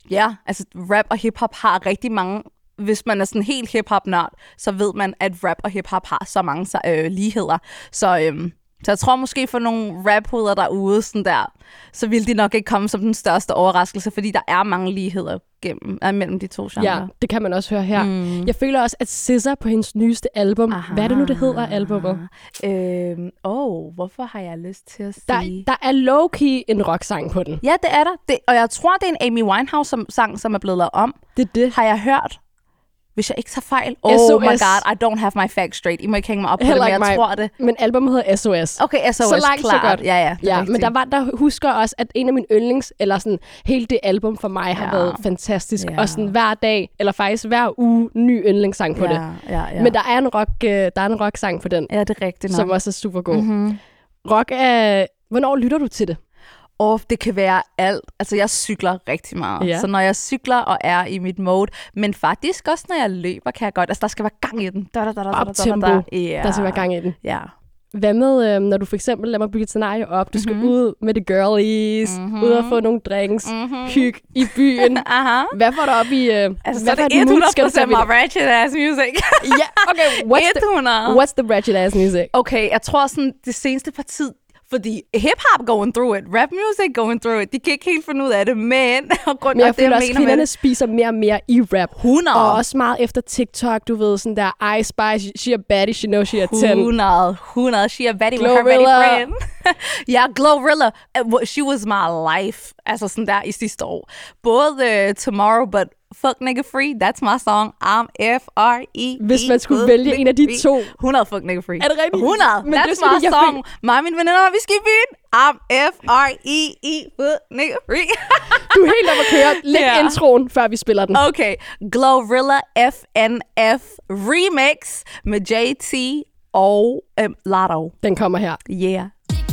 Ja, altså rap og hiphop har rigtig mange... Hvis man er sådan helt hiphop-nørd, så ved man, at rap og hiphop har så mange øh, ligheder. Så, øhm, så jeg tror måske for nogle rap-hoveder derude, sådan der, så vil de nok ikke komme som den største overraskelse, fordi der er mange ligheder gennem, øh, mellem de to genrer.
Ja, det kan man også høre her. Mm. Jeg føler også, at S Z A på hendes nyeste album, Aha. hvad er det nu, det hedder, albummet?
Øhm, oh, hvorfor har jeg lyst til at sige?
Der, der er low-key en rock-sang på den.
Ja, det er der. Det, og jeg tror, det er en Amy Winehouse-sang, som er blevet lavet om.
Det er det.
Har jeg hørt. Hvis jeg ikke tager fejl. Oh
S O S.
My god, I don't have my facts straight. I må ikke hænge mig op på det, men jeg mig. tror det.
Men albumet hedder S O S.
Okay, S O S,
så langt,
klart.
Så godt.
Ja, ja,
ja men der, var, der husker også, at en af mine yndlings, eller sådan, hele det album for mig har ja. været fantastisk. Ja. Og sådan hver dag, eller faktisk hver uge, ny yndlingssang på
ja,
det.
Ja, ja.
Men der er en rock, uh, der er en rock-sang på den.
Ja, det er rigtigt nok.
Som også er super god.
Mm-hmm.
Rock er... Hvornår lytter du til det?
Og det kan være alt. Altså, jeg cykler rigtig meget.
Ja.
Så når jeg cykler og er i mit mode, men faktisk også, når jeg løber, kan jeg godt... Altså, der skal være gang i den. Da, da, da, da,
Op
da,
tempo.
Da, da. Yeah.
Der skal være gang i den.
Ja.
Hvad med, øh, når du for eksempel, lad mig bygge et scenarie op, du skal mm-hmm. ud med the girlies, mm-hmm. ud og få nogle drinks, mm-hmm. hygge i byen.
Aha.
Hvad får du op i... Øh,
altså,
hvad
så er det hundrede procent
my
ratchet ass music.
Ja, okay. What's
hundrede.
the, what's the ratchet ass music?
Okay, jeg tror sådan, det seneste par tid, fordi hip-hop going through it, rap music going through it, de kan ikke helt finde ud af det, men...
men jeg føler også, at kvinderne spiser mere og mere i rap.
hundrede.
Og også meget efter TikTok, du ved, sådan der, I Spy, she a baddie, she knows she a ten.
hundrede, hundrede, she a baddie with her baddie friend. Ja, Glorilla, she was my life, altså sådan der i sidste år. Både uh, Tomorrow, but Fuck Nigga Free, that's my song. I'm F R E E.
Hvis man skulle vælge en af de to.
hundrede Fuck Nigga Free.
Er det rigtigt?
hundrede.
Men
that's
det
my
fordi,
song.
Fik...
Mig og mine veninder, vi skal i byen. I'm F R E E. Fuck Nigga Free.
Du er helt om at køre. Læg yeah. introen, før vi spiller den.
Okay. Glorilla F N F Remix med J T og um, Lotto.
Den kommer her.
Yeah.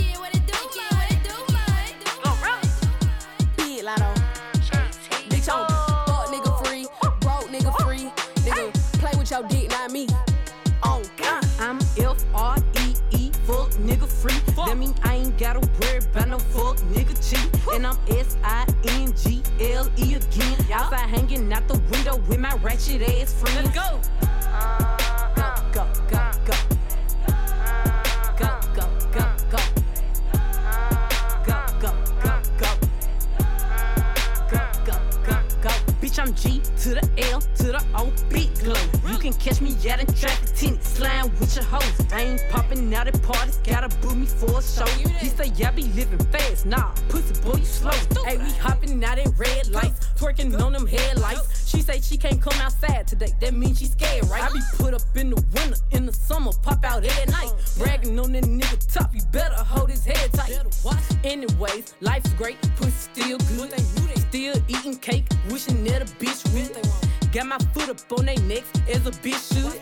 Your dick, not me. Oh God, I'm F R E E, fuck nigga free. Fuck. That mean I ain't gotta worry about no fuck nigga cheat. And I'm S I N G L E again. Yeah. Outside hanging out the window with my ratchet ass friends. Let's go. Go, go, go, go. Go, go, go, go. Go, go, go, go. Go, go, go, go. Bitch, I'm G to the L to the O, big glow. You can catch me out in traffic, tinted, slime with your hoes. I ain't popping out at parties, gotta book me for a show. He say, yeah, I be living fast, nah, pussy boy, you slow. Hey, we hopping out at red lights, twerking on them headlights. She say she can't come outside today, that means she scared, right? I be put up in the winter, in the summer, pop out at night. Bragging on that nigga top, you better hold his head tight. Anyways, life's great, pussy still good. Still eating cake, wishing that a bitch would. Got my foot up on they necks as a bitch should.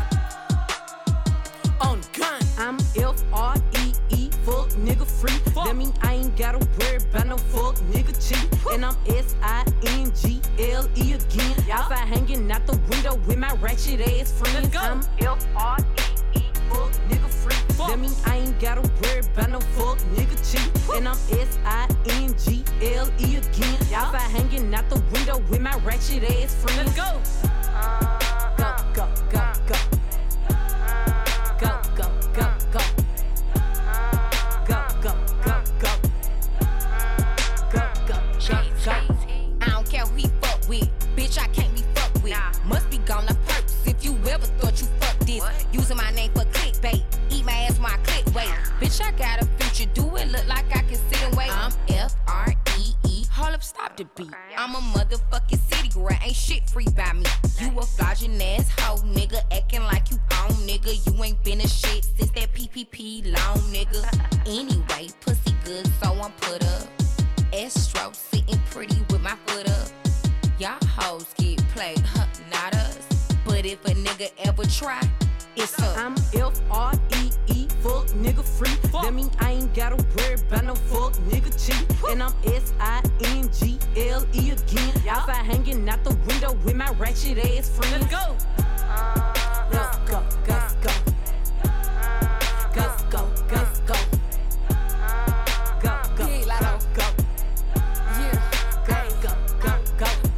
On the gun, I'm F R E E, fuck nigga free. Fuck. That mean I ain't gotta worry about no fuck nigga cheat. And I'm S I N G L E again. Yep. Outside hanging out the window with my ratchet ass friends. I'm F R E E, fuck nigga free. Fuck. That mean I ain't gotta worry about no fuck nigga cheat. And I'm S I N G L E again. Yep. Outside hanging out the window with my ratchet ass friends. Let's go. Go, go, go, go. Go, go, go, go. Go, go, go, go. Go, go, go, go.
I don't care who he fuck with. Bitch, I can't be fucked with. Nah. Must be gone on purpose if you ever thought you fucked this. What? Using my name for clickbait. Eat my ass while I click wait. Bitch, I got a future. Do it look like I can sit and wait? I'm F R E E. Hold up, stop the beat. I'm a motherfucking city girl. Ain't shit free by me. You a flogging ass hoe, nigga. Acting like you own, nigga. You ain't been a shit since that P P P long, nigga. Anyway, pussy good, so I'm put up. Astro sitting pretty with my foot up. Y'all hoes get played, huh? Not us. But if a nigga ever try, it's up.
I'm F R E E, fuck nigga free. Fuck. That mean I ain't gotta worry about no fuck nigga cheat. And I'm S I N G L E again. Yep. Outside hanging out the window with my ratchet ass friends. Let's go. Let's go, let's go. Let's go, let's go. Go, go, go, go. Yeah, go, go, go, go.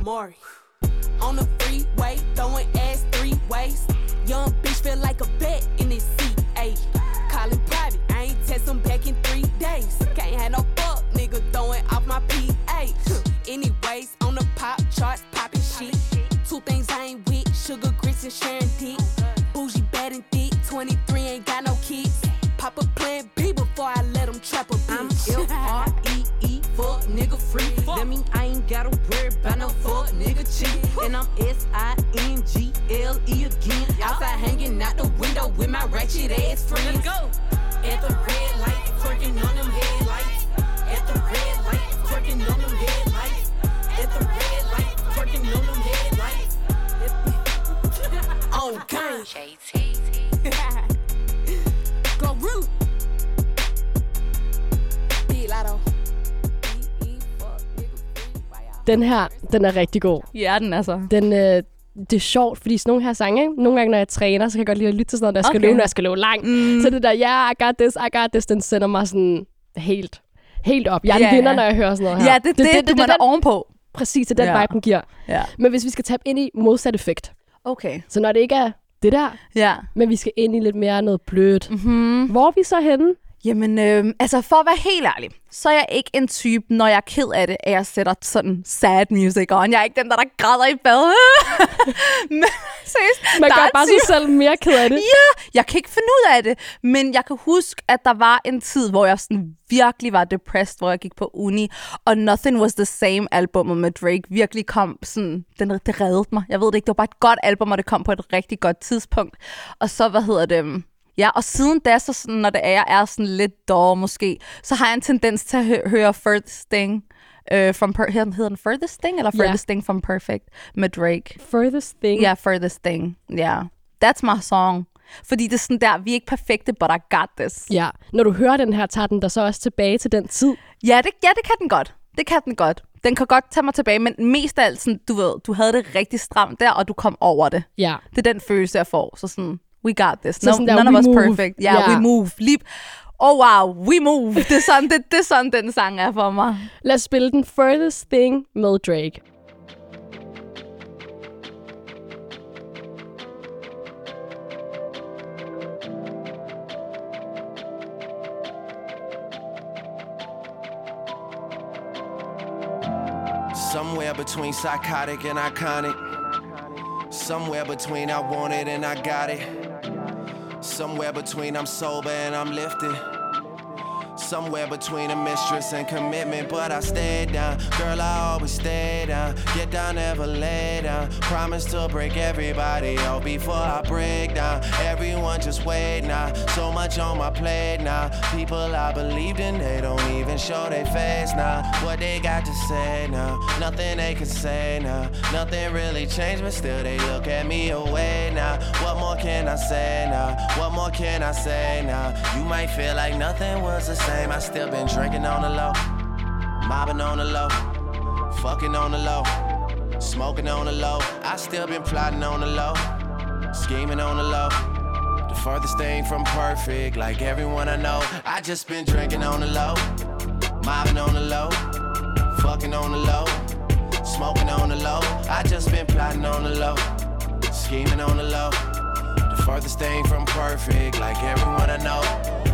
Amari. On the freeway, throwing ass three ways. Young bitch feel like a vet in this seat, ayy. Calling private, I ain't text him back in three days. Can't have no fuck, nigga throwing off my P A. Anyways, on the pop charts, popping shit. Two things I ain't with, sugar grits and sharing dick. Bougie, bad and thick, twenty-three, ain't got no kids. Pop a plan B before I let him trap a bitch. I'm F R E E, fuck nigga free. That mean I ain't gotta worry about no fuck nigga cheat. And I'm S I N G L E again. Outside hanging out the window with my ratchet ass friends. Let's go. At the red light, twerking on them headlights. At the red light, twerking on them headlights. At the red light, twerking on them headlights. On gang. J T. Go root. Be Lotto.
Den her, den er rigtig god.
Ja, den er så.
Den, øh, det er sjovt, fordi sådan nogle her sange, ikke? Nogle gange, når jeg træner, så kan jeg godt lide at lytte til sådan noget, når jeg skal okay. løbe, når jeg skal løbe langt. Mm. Så det der, ja, yeah, I got this, I got this, den sender mig sådan helt, helt op. Jeg er yeah, en vinder, yeah. når jeg hører sådan noget her.
Ja, det er det, det, det, det, det, det ovenpå.
Præcis, det er den
ja.
vibe, den giver.
Ja.
Men hvis vi skal tabe ind i modsat effekt.
Okay.
Så når det ikke er det der,
ja.
men vi skal ind i lidt mere noget blødt.
Mm-hmm.
Hvor er vi så henne?
Jamen, øh, altså for at være helt ærlig, så er jeg ikke en type, når jeg er ked af det, at jeg sætter sådan sad music on. Jeg er ikke den, der, der græder i bad. Men seriøst,
man gør bare sig selv mere ked af det.
Ja, jeg kan ikke finde ud af det. Men jeg kan huske, at der var en tid, hvor jeg sådan virkelig var depressed, hvor jeg gik på uni. Og Nothing Was The Same albumet med Drake virkelig kom sådan, den, det reddede mig. Jeg ved det ikke, det var bare et godt album, og det kom på et rigtig godt tidspunkt. Og så, hvad hedder det... Ja, og siden da, så sådan, når det er, jeg er sådan lidt dårlig måske, så har jeg en tendens til at hø- høre Furthest Thing. Uh, from per- hedder den Furthest Thing, eller Furthest yeah. Thing from Perfect med Drake?
Furthest Thing?
Ja, yeah, Furthest Thing. Ja, yeah. That's my song. Fordi det er sådan der, vi er ikke perfekte, but I got this.
Ja, når du hører den her, tager den der så også tilbage til den tid?
Ja, det, ja, det kan den godt. Det kan den godt. Den kan godt tage mig tilbage, men mest af alt, sådan, du ved, du havde det rigtig stramt der, og du kom over det.
Ja.
Det er den følelse, jeg får. Så sådan... We got this.
No,
none
der,
of us
move.
perfect. Yeah, yeah, we move. Leap. Oh wow, we move. Det er sådan, det, det er sådan den sang er for mig.
Lad os spille den Furthest Thing med Drake.
Somewhere between psychotic and iconic. Somewhere between I want it and I got it. Somewhere between I'm sober and I'm lifted. Somewhere between a mistress and commitment, but I stayed down. Girl, I always stay down. Get down, never lay down. Promise to break everybody out before I break down. Everyone just wait now. So much on my plate now. People I believed in, they don't even show their face now. What they got to say now? Nothing they can say now. Nothing really changed, but still they look at me away now. What more can I say now? What more can I say now? You might feel like nothing was the same. I still been drinking on the low, mobbing on the low, fucking on the low, smoking on the low. I still been plotting on the low, scheming on the low. The furthest thing from perfect, like everyone I know. I just been drinking on the low, mobbing on the low, fucking on the low, smoking on the low. I just been plotting on the low, scheming on the low. The furthest thing from perfect, like everyone I know.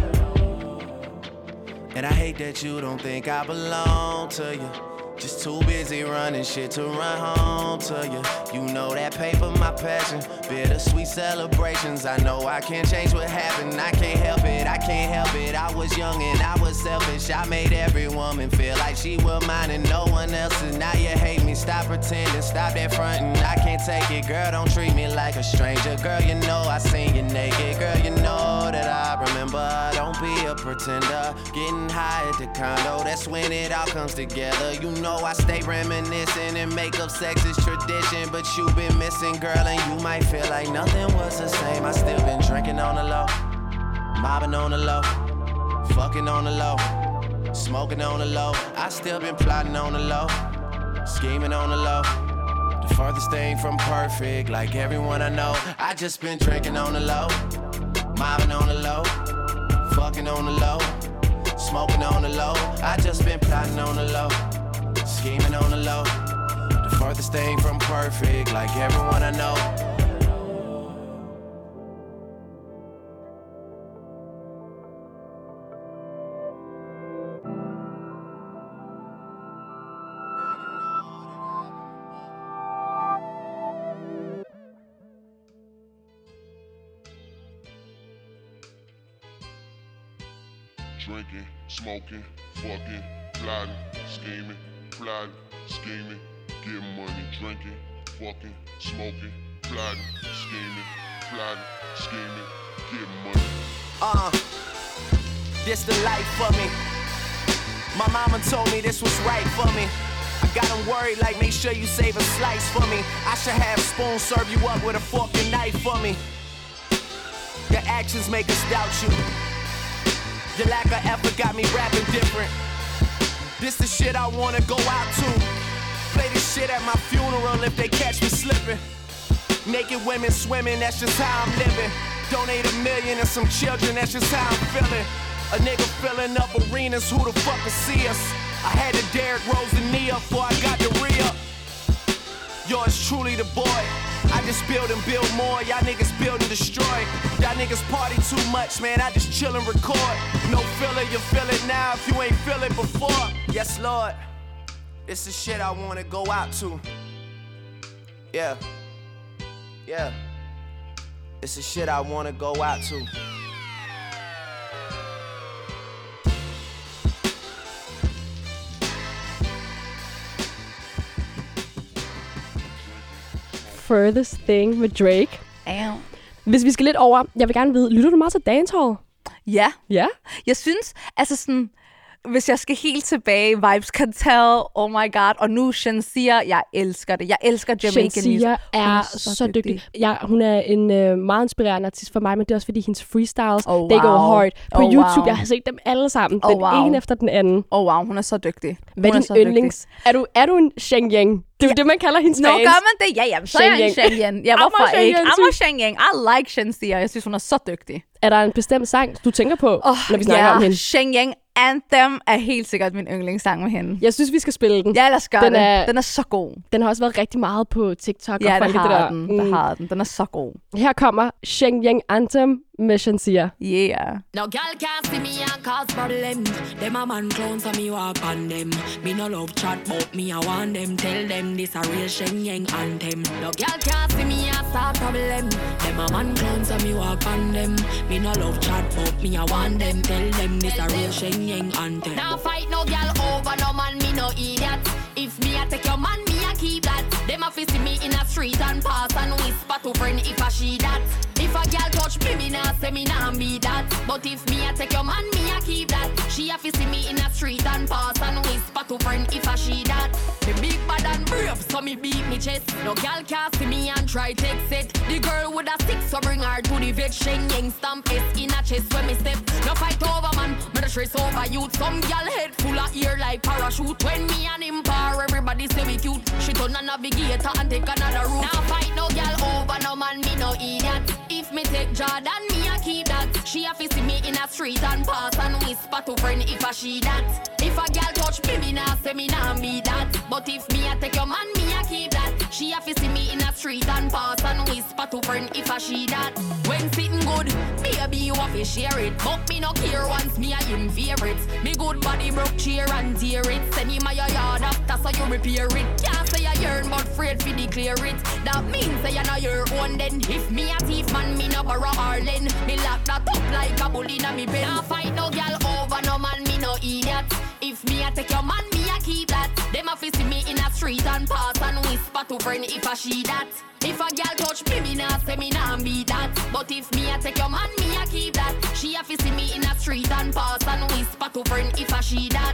And I hate that you don't think I belong to you. Just too busy running shit to run home to you. You know that paper, my passion. Bittersweet celebrations. I know I can't change what happened. I can't help it, I can't help it. I was young and I was selfish. I made every woman feel like she was mine and no one else's. Now you hate me, stop pretending, stop that fronting. I can't take it, girl, don't treat me like a stranger. Girl, you know I seen you naked. Girl, you know that I remember. Don't be a pretender. Getting high at the condo, that's when it all comes together. You know I stay reminiscing and make up sex is tradition. But you been missing, girl, and you might feel like nothing was the same. I still been drinking on the low, mobbing on the low, fucking on the low, smoking on the low. I still been plotting on the low, scheming on the low. The furthest thing from perfect, like everyone I know. I just been drinking on the low, mobbing on the low, fucking on the low, smoking on the low. I just been plotting on the low, scheming on the low. The Farthest thing from perfect, like everyone I know.
Drinking, smoking, fucking, plotting, scheming, plotting, scheming, getting money, drinking, fucking, smoking, plotting, scheming, plotting, scheming, getting money.
Uh, this the life for me. My mama told me this was right for me. I got them worried like make sure you save a slice for me. I should have a spoon serve you up with a fork and knife for me. Your actions make us doubt you. Your lack of effort got me rapping different. This the shit I wanna go out to. Play this shit at my funeral if they catch me slipping. Naked women swimming, that's just how I'm living. Donate a million and some children, that's just how I'm feeling. A nigga filling up arenas, who the fuck will see us? I had to Derrick Rose the knee up before I got the re-up. Yours truly the boy. I just build and build more, y'all niggas build and destroy. Y'all niggas party too much, man, I just chill and record. No filler, you feel it now if you ain't feel it before. Yes, Lord, it's the shit I wanna go out to. Yeah, yeah, it's the shit I wanna go out to.
Furthest Thing med Drake.
Ow.
Hvis vi skal lidt over, jeg vil gerne vide, lytter du meget til dancehall?
Ja.
Ja?
Jeg synes, altså sådan, hvis jeg skal helt tilbage, Vybz Kartel, oh my god, og nu Shenseea, jeg elsker det. Jeg elsker Jamaican music.
Shenseea er så, så dygtig. dygtig. Ja, hun er en øh, meget inspirerende artist for mig, men det er også fordi hendes freestyles, oh, wow. they go hard. På oh, YouTube, wow. Jeg har set dem alle sammen, oh, den wow. ene efter den anden.
Oh wow, hun er så dygtig.
Hvad er din yndlings? Er du, er du en Sheng Yang? Det er jo ja. det, man kalder hendes
Nå,
fans.
Nå, gør man det? Ja, ja, så er jeg en Sheng Yang. Ja, hvorfor ikke? I'm a Sheng Yang. I like Shenseea. Jeg synes, hun er så dygtig.
Er der en bestemt sang, du tænker på, oh, når vi snakker
ja.
om hende?
Sheng Yang Anthem er helt sikkert min yndlingssang med hende.
Jeg synes, vi skal spille den.
Ja, lad os gøre
den
det.
Er,
den er så god.
Den har også været rigtig meget på TikTok.
Ja,
og folk
det har
det der.
den.
Mm.
Det har den. Den er så god.
Her kommer Sheng Yang Anthem med Shenseea.
Yeah.
No girl can't see me and cause problem. Them a man clowns and me walk on them. Me no love chat but me I want them. Tell them this a real Sheng Yang Anthem. No girl can't see me and start problem. Them a man clowns and me walk on them. Me no love chat but me I want them. Tell them this a real Sheng Yang Anthem. Now fight no girl over no man, me no idiot. If me I take your man, me I keep that. Them a fi see me in a street and pass and whisper to friend if I she that. If a girl touch me, me nah say me nah be that. But if me I take your man, me I keep that. She a fi see me in a street and pass and whisper to friend if I she that. The big bad and brave, so me beat me chest. No girl can't see me and try take it. The girl with a stick, so bring her to the vet. Sheng Yang stamp S in a chest when me step. No fight over man, me the stress over youth. Some girl head full of ear like parachute. When me and him par, everybody say we cute. She turn a navigator and take another route. Now fight no girl over no man, me no idiot. If me take Jordan, me a keep that. She a fi see me in a street and pass and whisper to friend if I she that. If a girl touch me, me nah say me nah be that. But if me a take your man, me a keep that. She a fi see me in a street and pass and whisper to friend if I she that. When sitting good, baby you a fi share it. But me no care once me a him favorite. Me good body broke chair and tear it. Send him a your yard after so you repair it. Can't say you yearn but afraid fi declare it. That means say you know your own then. If me a thief man, me no borrow Harlan. Me lock that up like a bull inna me bed. Nah fight no girl over no man, me no idiot. If me a take your man, me a keep that. Them a fi see me in a street and pass and whisper to friend if I she that. If a girl touch me, me nah say me nah be that. But if me a take your man, me a keep that. She a fi see me in a street and pass and whisper to friend if I she that.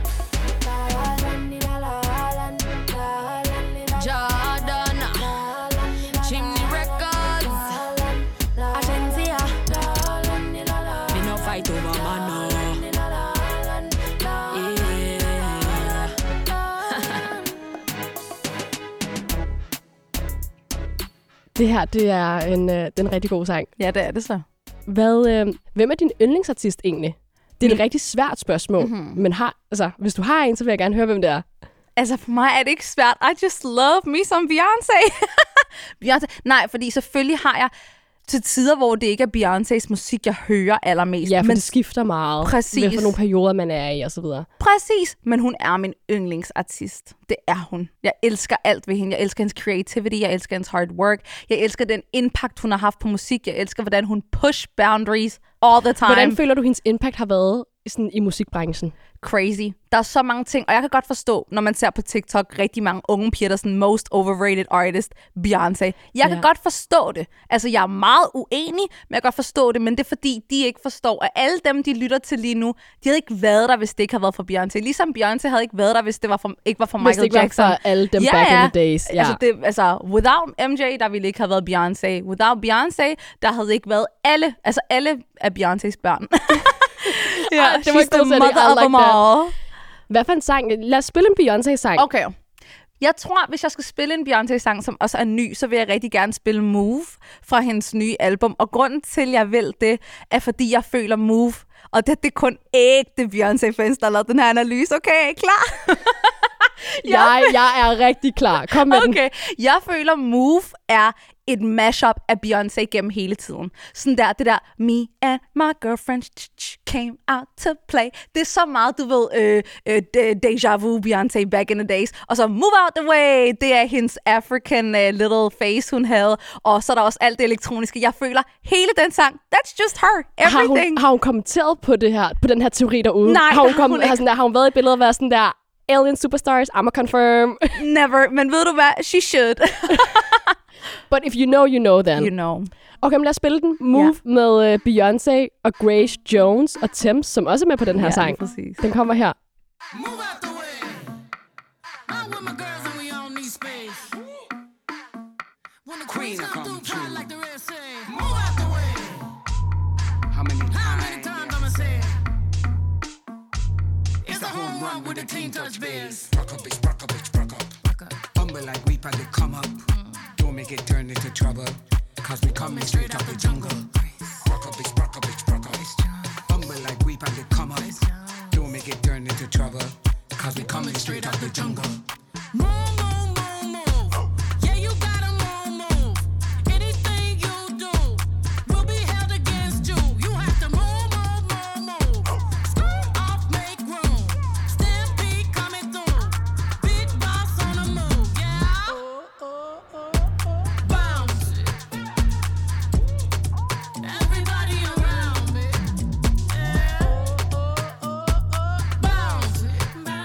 Jordan, Chimney Records, Shenseea. Me no fight over man no. Yeah.
Det her, det er en, øh, den rigtig god sang.
Ja, det er det så.
Hvad, øh, hvem er din yndlingsartist egentlig? Det er et
Min...
rigtig svært spørgsmål, mm-hmm. men har, altså, hvis du har en, så vil jeg gerne høre, hvem det er.
Altså, for mig er det ikke svært. I just love me som Beyoncé. Beyoncé. Nej, fordi selvfølgelig har jeg til tider, hvor det ikke er Beyoncés musik, jeg hører allermest.
Ja, for
men
det skifter meget.
Præcis.
Hvad for nogle perioder, man er i, og så videre.
Præcis. Men hun er min yndlingsartist. Det er hun. Jeg elsker alt ved hende. Jeg elsker hendes creativity. Jeg elsker hendes hard work. Jeg elsker den impact, hun har haft på musik. Jeg elsker, hvordan hun push boundaries all the time.
Hvordan føler du, hendes impact har været sådan, i musikbranchen?
Crazy. Der er så mange ting, og jeg kan godt forstå, når man ser på TikTok rigtig mange unge piger, der er sådan most overrated artist, Beyoncé. Jeg ja. kan godt forstå det. Altså, jeg er meget uenig, men jeg kan godt forstå det, men det er fordi, de ikke forstår, at alle dem, de lytter til lige nu, de havde ikke været der, hvis det ikke havde været for Beyoncé. Ligesom Beyoncé havde ikke været der, hvis det var for, ikke var for Michael Jackson.
Hvis det ikke var for alle dem
ja,
back
ja.
in the days. Ja.
Altså, det, altså, without M J, der ville ikke have været Beyoncé. Without Beyoncé, der havde ikke været alle, altså alle af Beyoncés børn.
Ja, det var ikke the mother of them all. Hvad for en sang? Lad os spille en Beyoncé-sang.
Okay. Jeg tror, hvis jeg skal spille en Beyoncé-sang, som også er ny, så vil jeg rigtig gerne spille Move fra hendes nye album. Og grunden til, jeg vil det, er fordi jeg føler Move. Og det, det er kun ægte Beyoncé-fans, der har lavet den her analyse. Okay, er I klar?
jeg, jeg er rigtig klar. Kom med
okay. den. Jeg føler, Move er et mashup af Beyoncé gennem hele tiden. Sådan der, det der, me and my girlfriend came out to play. Det er så meget, du ved, øh, øh, deja vu Beyoncé back in the days. Og så move out the way, det er hendes African uh, little face, hun havde. Og så er der også alt det elektroniske. Jeg føler hele den sang, that's just her, everything.
Har hun, har hun kommenteret på det her, på den her teori derude?
Nej,
har hun,
har hun
har, sådan der, har hun været i billedet og været sådan der, Alien Superstars, I'ma confirm.
Never, men ved du hvad? She should.
But if you know, you know then.
You know.
Okay, men lad os spille den. Move yeah. med uh, Beyoncé og Grace Jones og Thames, som også er med på den her
ja,
sang.
Præcis.
Den kommer her.
Move out the way. I'm with my girls and we all need space. When the queen come through, fly like the rest say. Move out the way. How many times? How many times I'ma say it? It's a home run with the team touch bears.
Rock up, bitch, rock up, bitch, rock up. Humble like we probably come up. Don't make it turn into trouble. Cause we coming straight out the jungle. Rock up, bitch, rock up, bitch, rock up. Humble like we probably come up. Don't make it turn into trouble. Cause we coming straight out the jungle.
Move, move, move, move. Yeah, you gotta move, move. Anything you do will be held against you. You have to move, move, move, move. Scoot off, make room. Stampede coming through. Big boss on the move, yeah. Bounce it. Everybody around me. Yeah. Bounce it.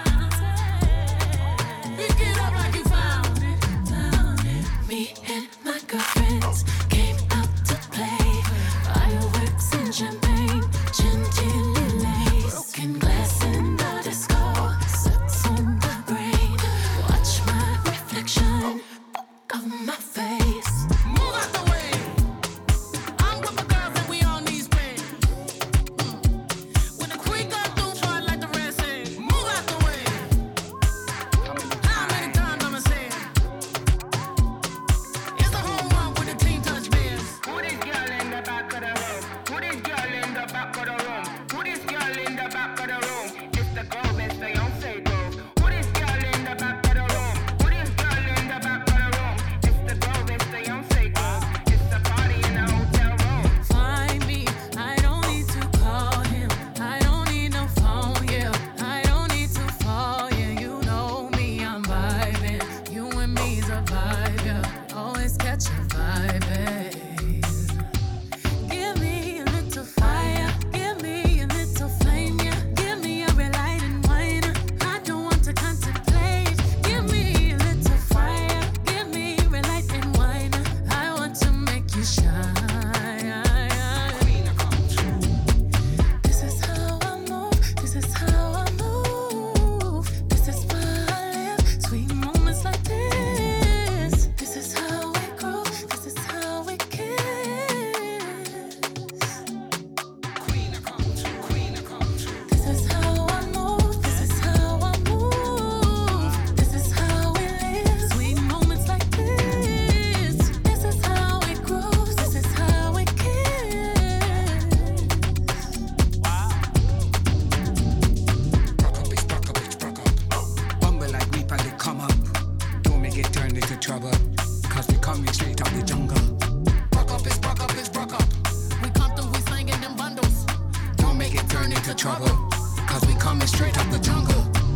Pick it up like you found it.
Me and my girlfriends came out to play. Fireworks and champagne, chantilly, broken glass in the disco, sets on the brain. Watch my reflection of my face.
Move out the way. I'm with my girls and we all need space. When the queen come through, fly like the rest say. Move out the way. How many times I'ma say it? It's a home run with the team touch bears.
Who this girl in the back of the room? Who this girl in the back of the room? Who this girl in the back of the room? It's the girl, Miss Beyonce girl. Who this girl in the back of the room? Who this girl in the back of the room? It's the girl,
cause we coming straight out the jungle. Rock up is rock up is rock up. We come through, we slinging them bundles. Don't make it turn into trouble, cause we coming straight out the jungle.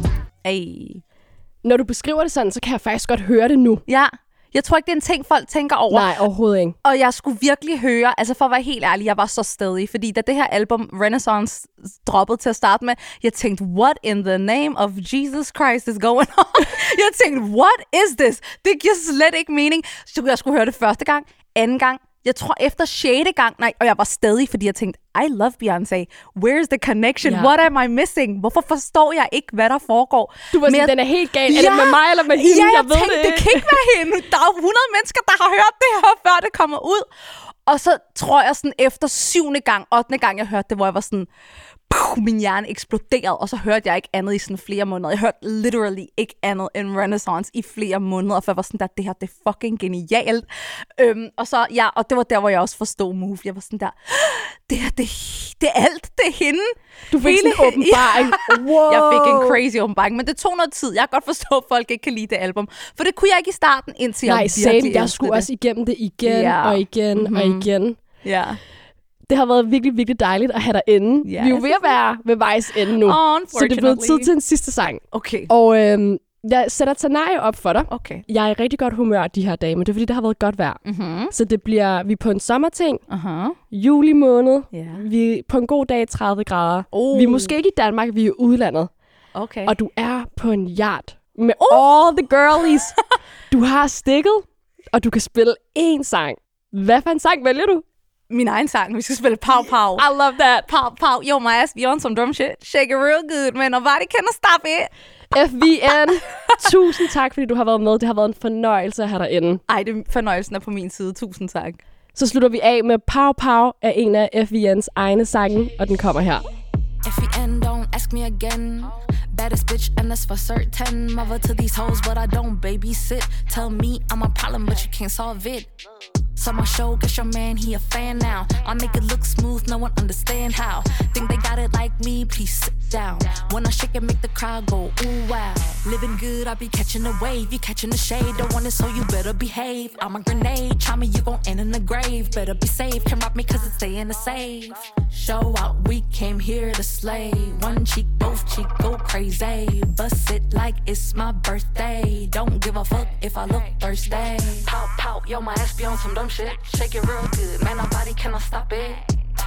Ej.
Når du beskriver det sådan, så kan jeg faktisk godt høre det nu.
Ja. Jeg tror ikke, det er en ting, folk tænker over.
Nej, overhovedet ikke.
Og jeg skulle virkelig høre, altså for at være helt ærlig, jeg var så stedig, fordi da det her album Renaissance droppede til at starte med, jeg tænkte, what in the name of Jesus Christ is going on? Jeg tænkte, what is this? Det giver slet ikke mening. Så jeg skulle høre det første gang, anden gang, jeg tror efter sjette gang, nej, og jeg var stadig, fordi jeg tænkte, I love Beyoncé. Where's the connection?
Ja.
What am I missing? Hvorfor forstår jeg ikke, hvad der foregår?
Du var sådan,
jeg...
den er helt gal. Er ja. det med mig eller med hende?
Ja, jeg,
jeg ved
tænkte,
det.
det kan ikke være hende. Der er hundrede mennesker, der har hørt det her, før det kommer ud. Og så tror jeg sådan, efter syvende gang, ottende gang, jeg hørte det, hvor jeg var sådan, puh, min hjerne eksploderede, og så hørte jeg ikke andet i sådan flere måneder. Jeg hørte literally ikke andet end Renaissance i flere måneder, for jeg var sådan der, det her, det er fucking genialt. Øhm, og så, ja, og det var der, hvor jeg også forstod Move. Jeg var sådan der, det her, det, det er alt, det er hende.
Du fik sådan en åbenbaring.
Ja.
Wow.
Jeg fik en crazy åbenbaring, men det tog noget tid. Jeg kan godt forstå, at folk ikke kan lide det album, for det kunne jeg ikke i starten, indtil
Nej,
jeg
same.
virkelig
Jeg skulle
det.
også igennem det igen
Ja.
og igen
Mhm.
og igen.
Ja.
Det har været virkelig, virkelig dejligt at have dig inde.
Ja,
Vi er jo ved at være ved vejs ende nu. Så det er blevet tid til en sidste sang.
Okay.
Og øhm, jeg sætter Tanaya op for dig.
Okay.
Jeg er i rigtig godt humør de her dage, men det er fordi, det har været godt vejr.
Mm-hmm.
Så det bliver, vi er på en sommerting.
Uh-huh.
Juli måned.
Yeah.
Vi er på en god dag tredive grader.
Oh.
Vi er måske ikke i Danmark, vi er i udlandet.
Okay.
Og du er på en yacht med oh. all the girlies. Du har stikket, og du kan spille én sang. Hvad for en sang vælger du?
Min egen sang. Vi skal spille Pow Pow.
I love that.
Pow Pow. Yo, my ass be on some drum shit. Shake it real good, man. Nobody can stop it.
F V N. Tusind tak, fordi du har været med. Det har været en fornøjelse at have dig inde.
Ej, det fornøjelsen er på min side. Tusind tak.
Så slutter vi af med Pow Pow af en af F V N's egne sange, og den kommer her.
If you end, don't ask me again. Baddest bitch, and that's for certain. Mother to these hoes, but I don't babysit. Tell me I'm a problem, but you can't solve it. So my show, guess your man, he a fan now. I make it look smooth, no one understand how. Think they got it like me, please sit down. When I shake it, make the crowd go, ooh, wow. Living good, I be catching a wave. You catching the shade, don't want it, so you better behave. I'm a grenade, try me, you gon' end in the grave. Better be safe, can rob me cause it's stay in the safe. Show out, we came here to slay. One cheek, both cheek, go crazy. Bust it like it's my birthday. Don't give a fuck if I look thirsty. Pow, pow, yo, my ass be on some dumb shit. Shake it real good, man, nobody cannot stop it.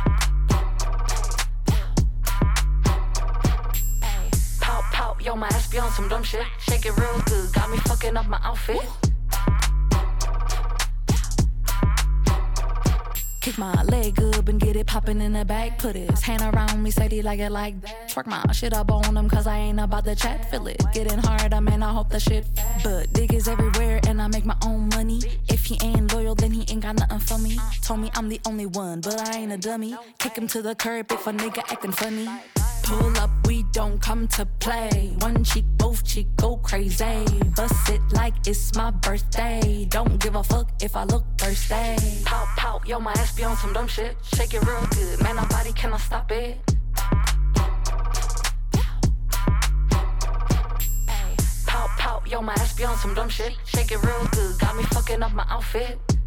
Pow, pow, yo, my ass be on some dumb shit. Shake it real good, got me fucking up my outfit. Kick my leg up and get it poppin' in the back. Put his hand around me, say he like it like that. Twerk my shit up on him cause I ain't about to chat. Feel it getting harder, man, I hope the shit. But dig is everywhere and I make my own money. If he ain't loyal, then he ain't got nothing for me. Told me I'm the only one, but I ain't a dummy. Kick him to the curb if a nigga acting funny. Pull up, we don't come to play. One cheek, both cheek, go crazy. Bust it like it's my birthday. Don't give a fuck if I look thirsty. Pow, pow, yo, my ass be on some dumb shit. Shake it real good, man, nobody cannot stop it. Pow, pow, yo, my ass be on some dumb shit. Shake it real good, got me fucking up my outfit.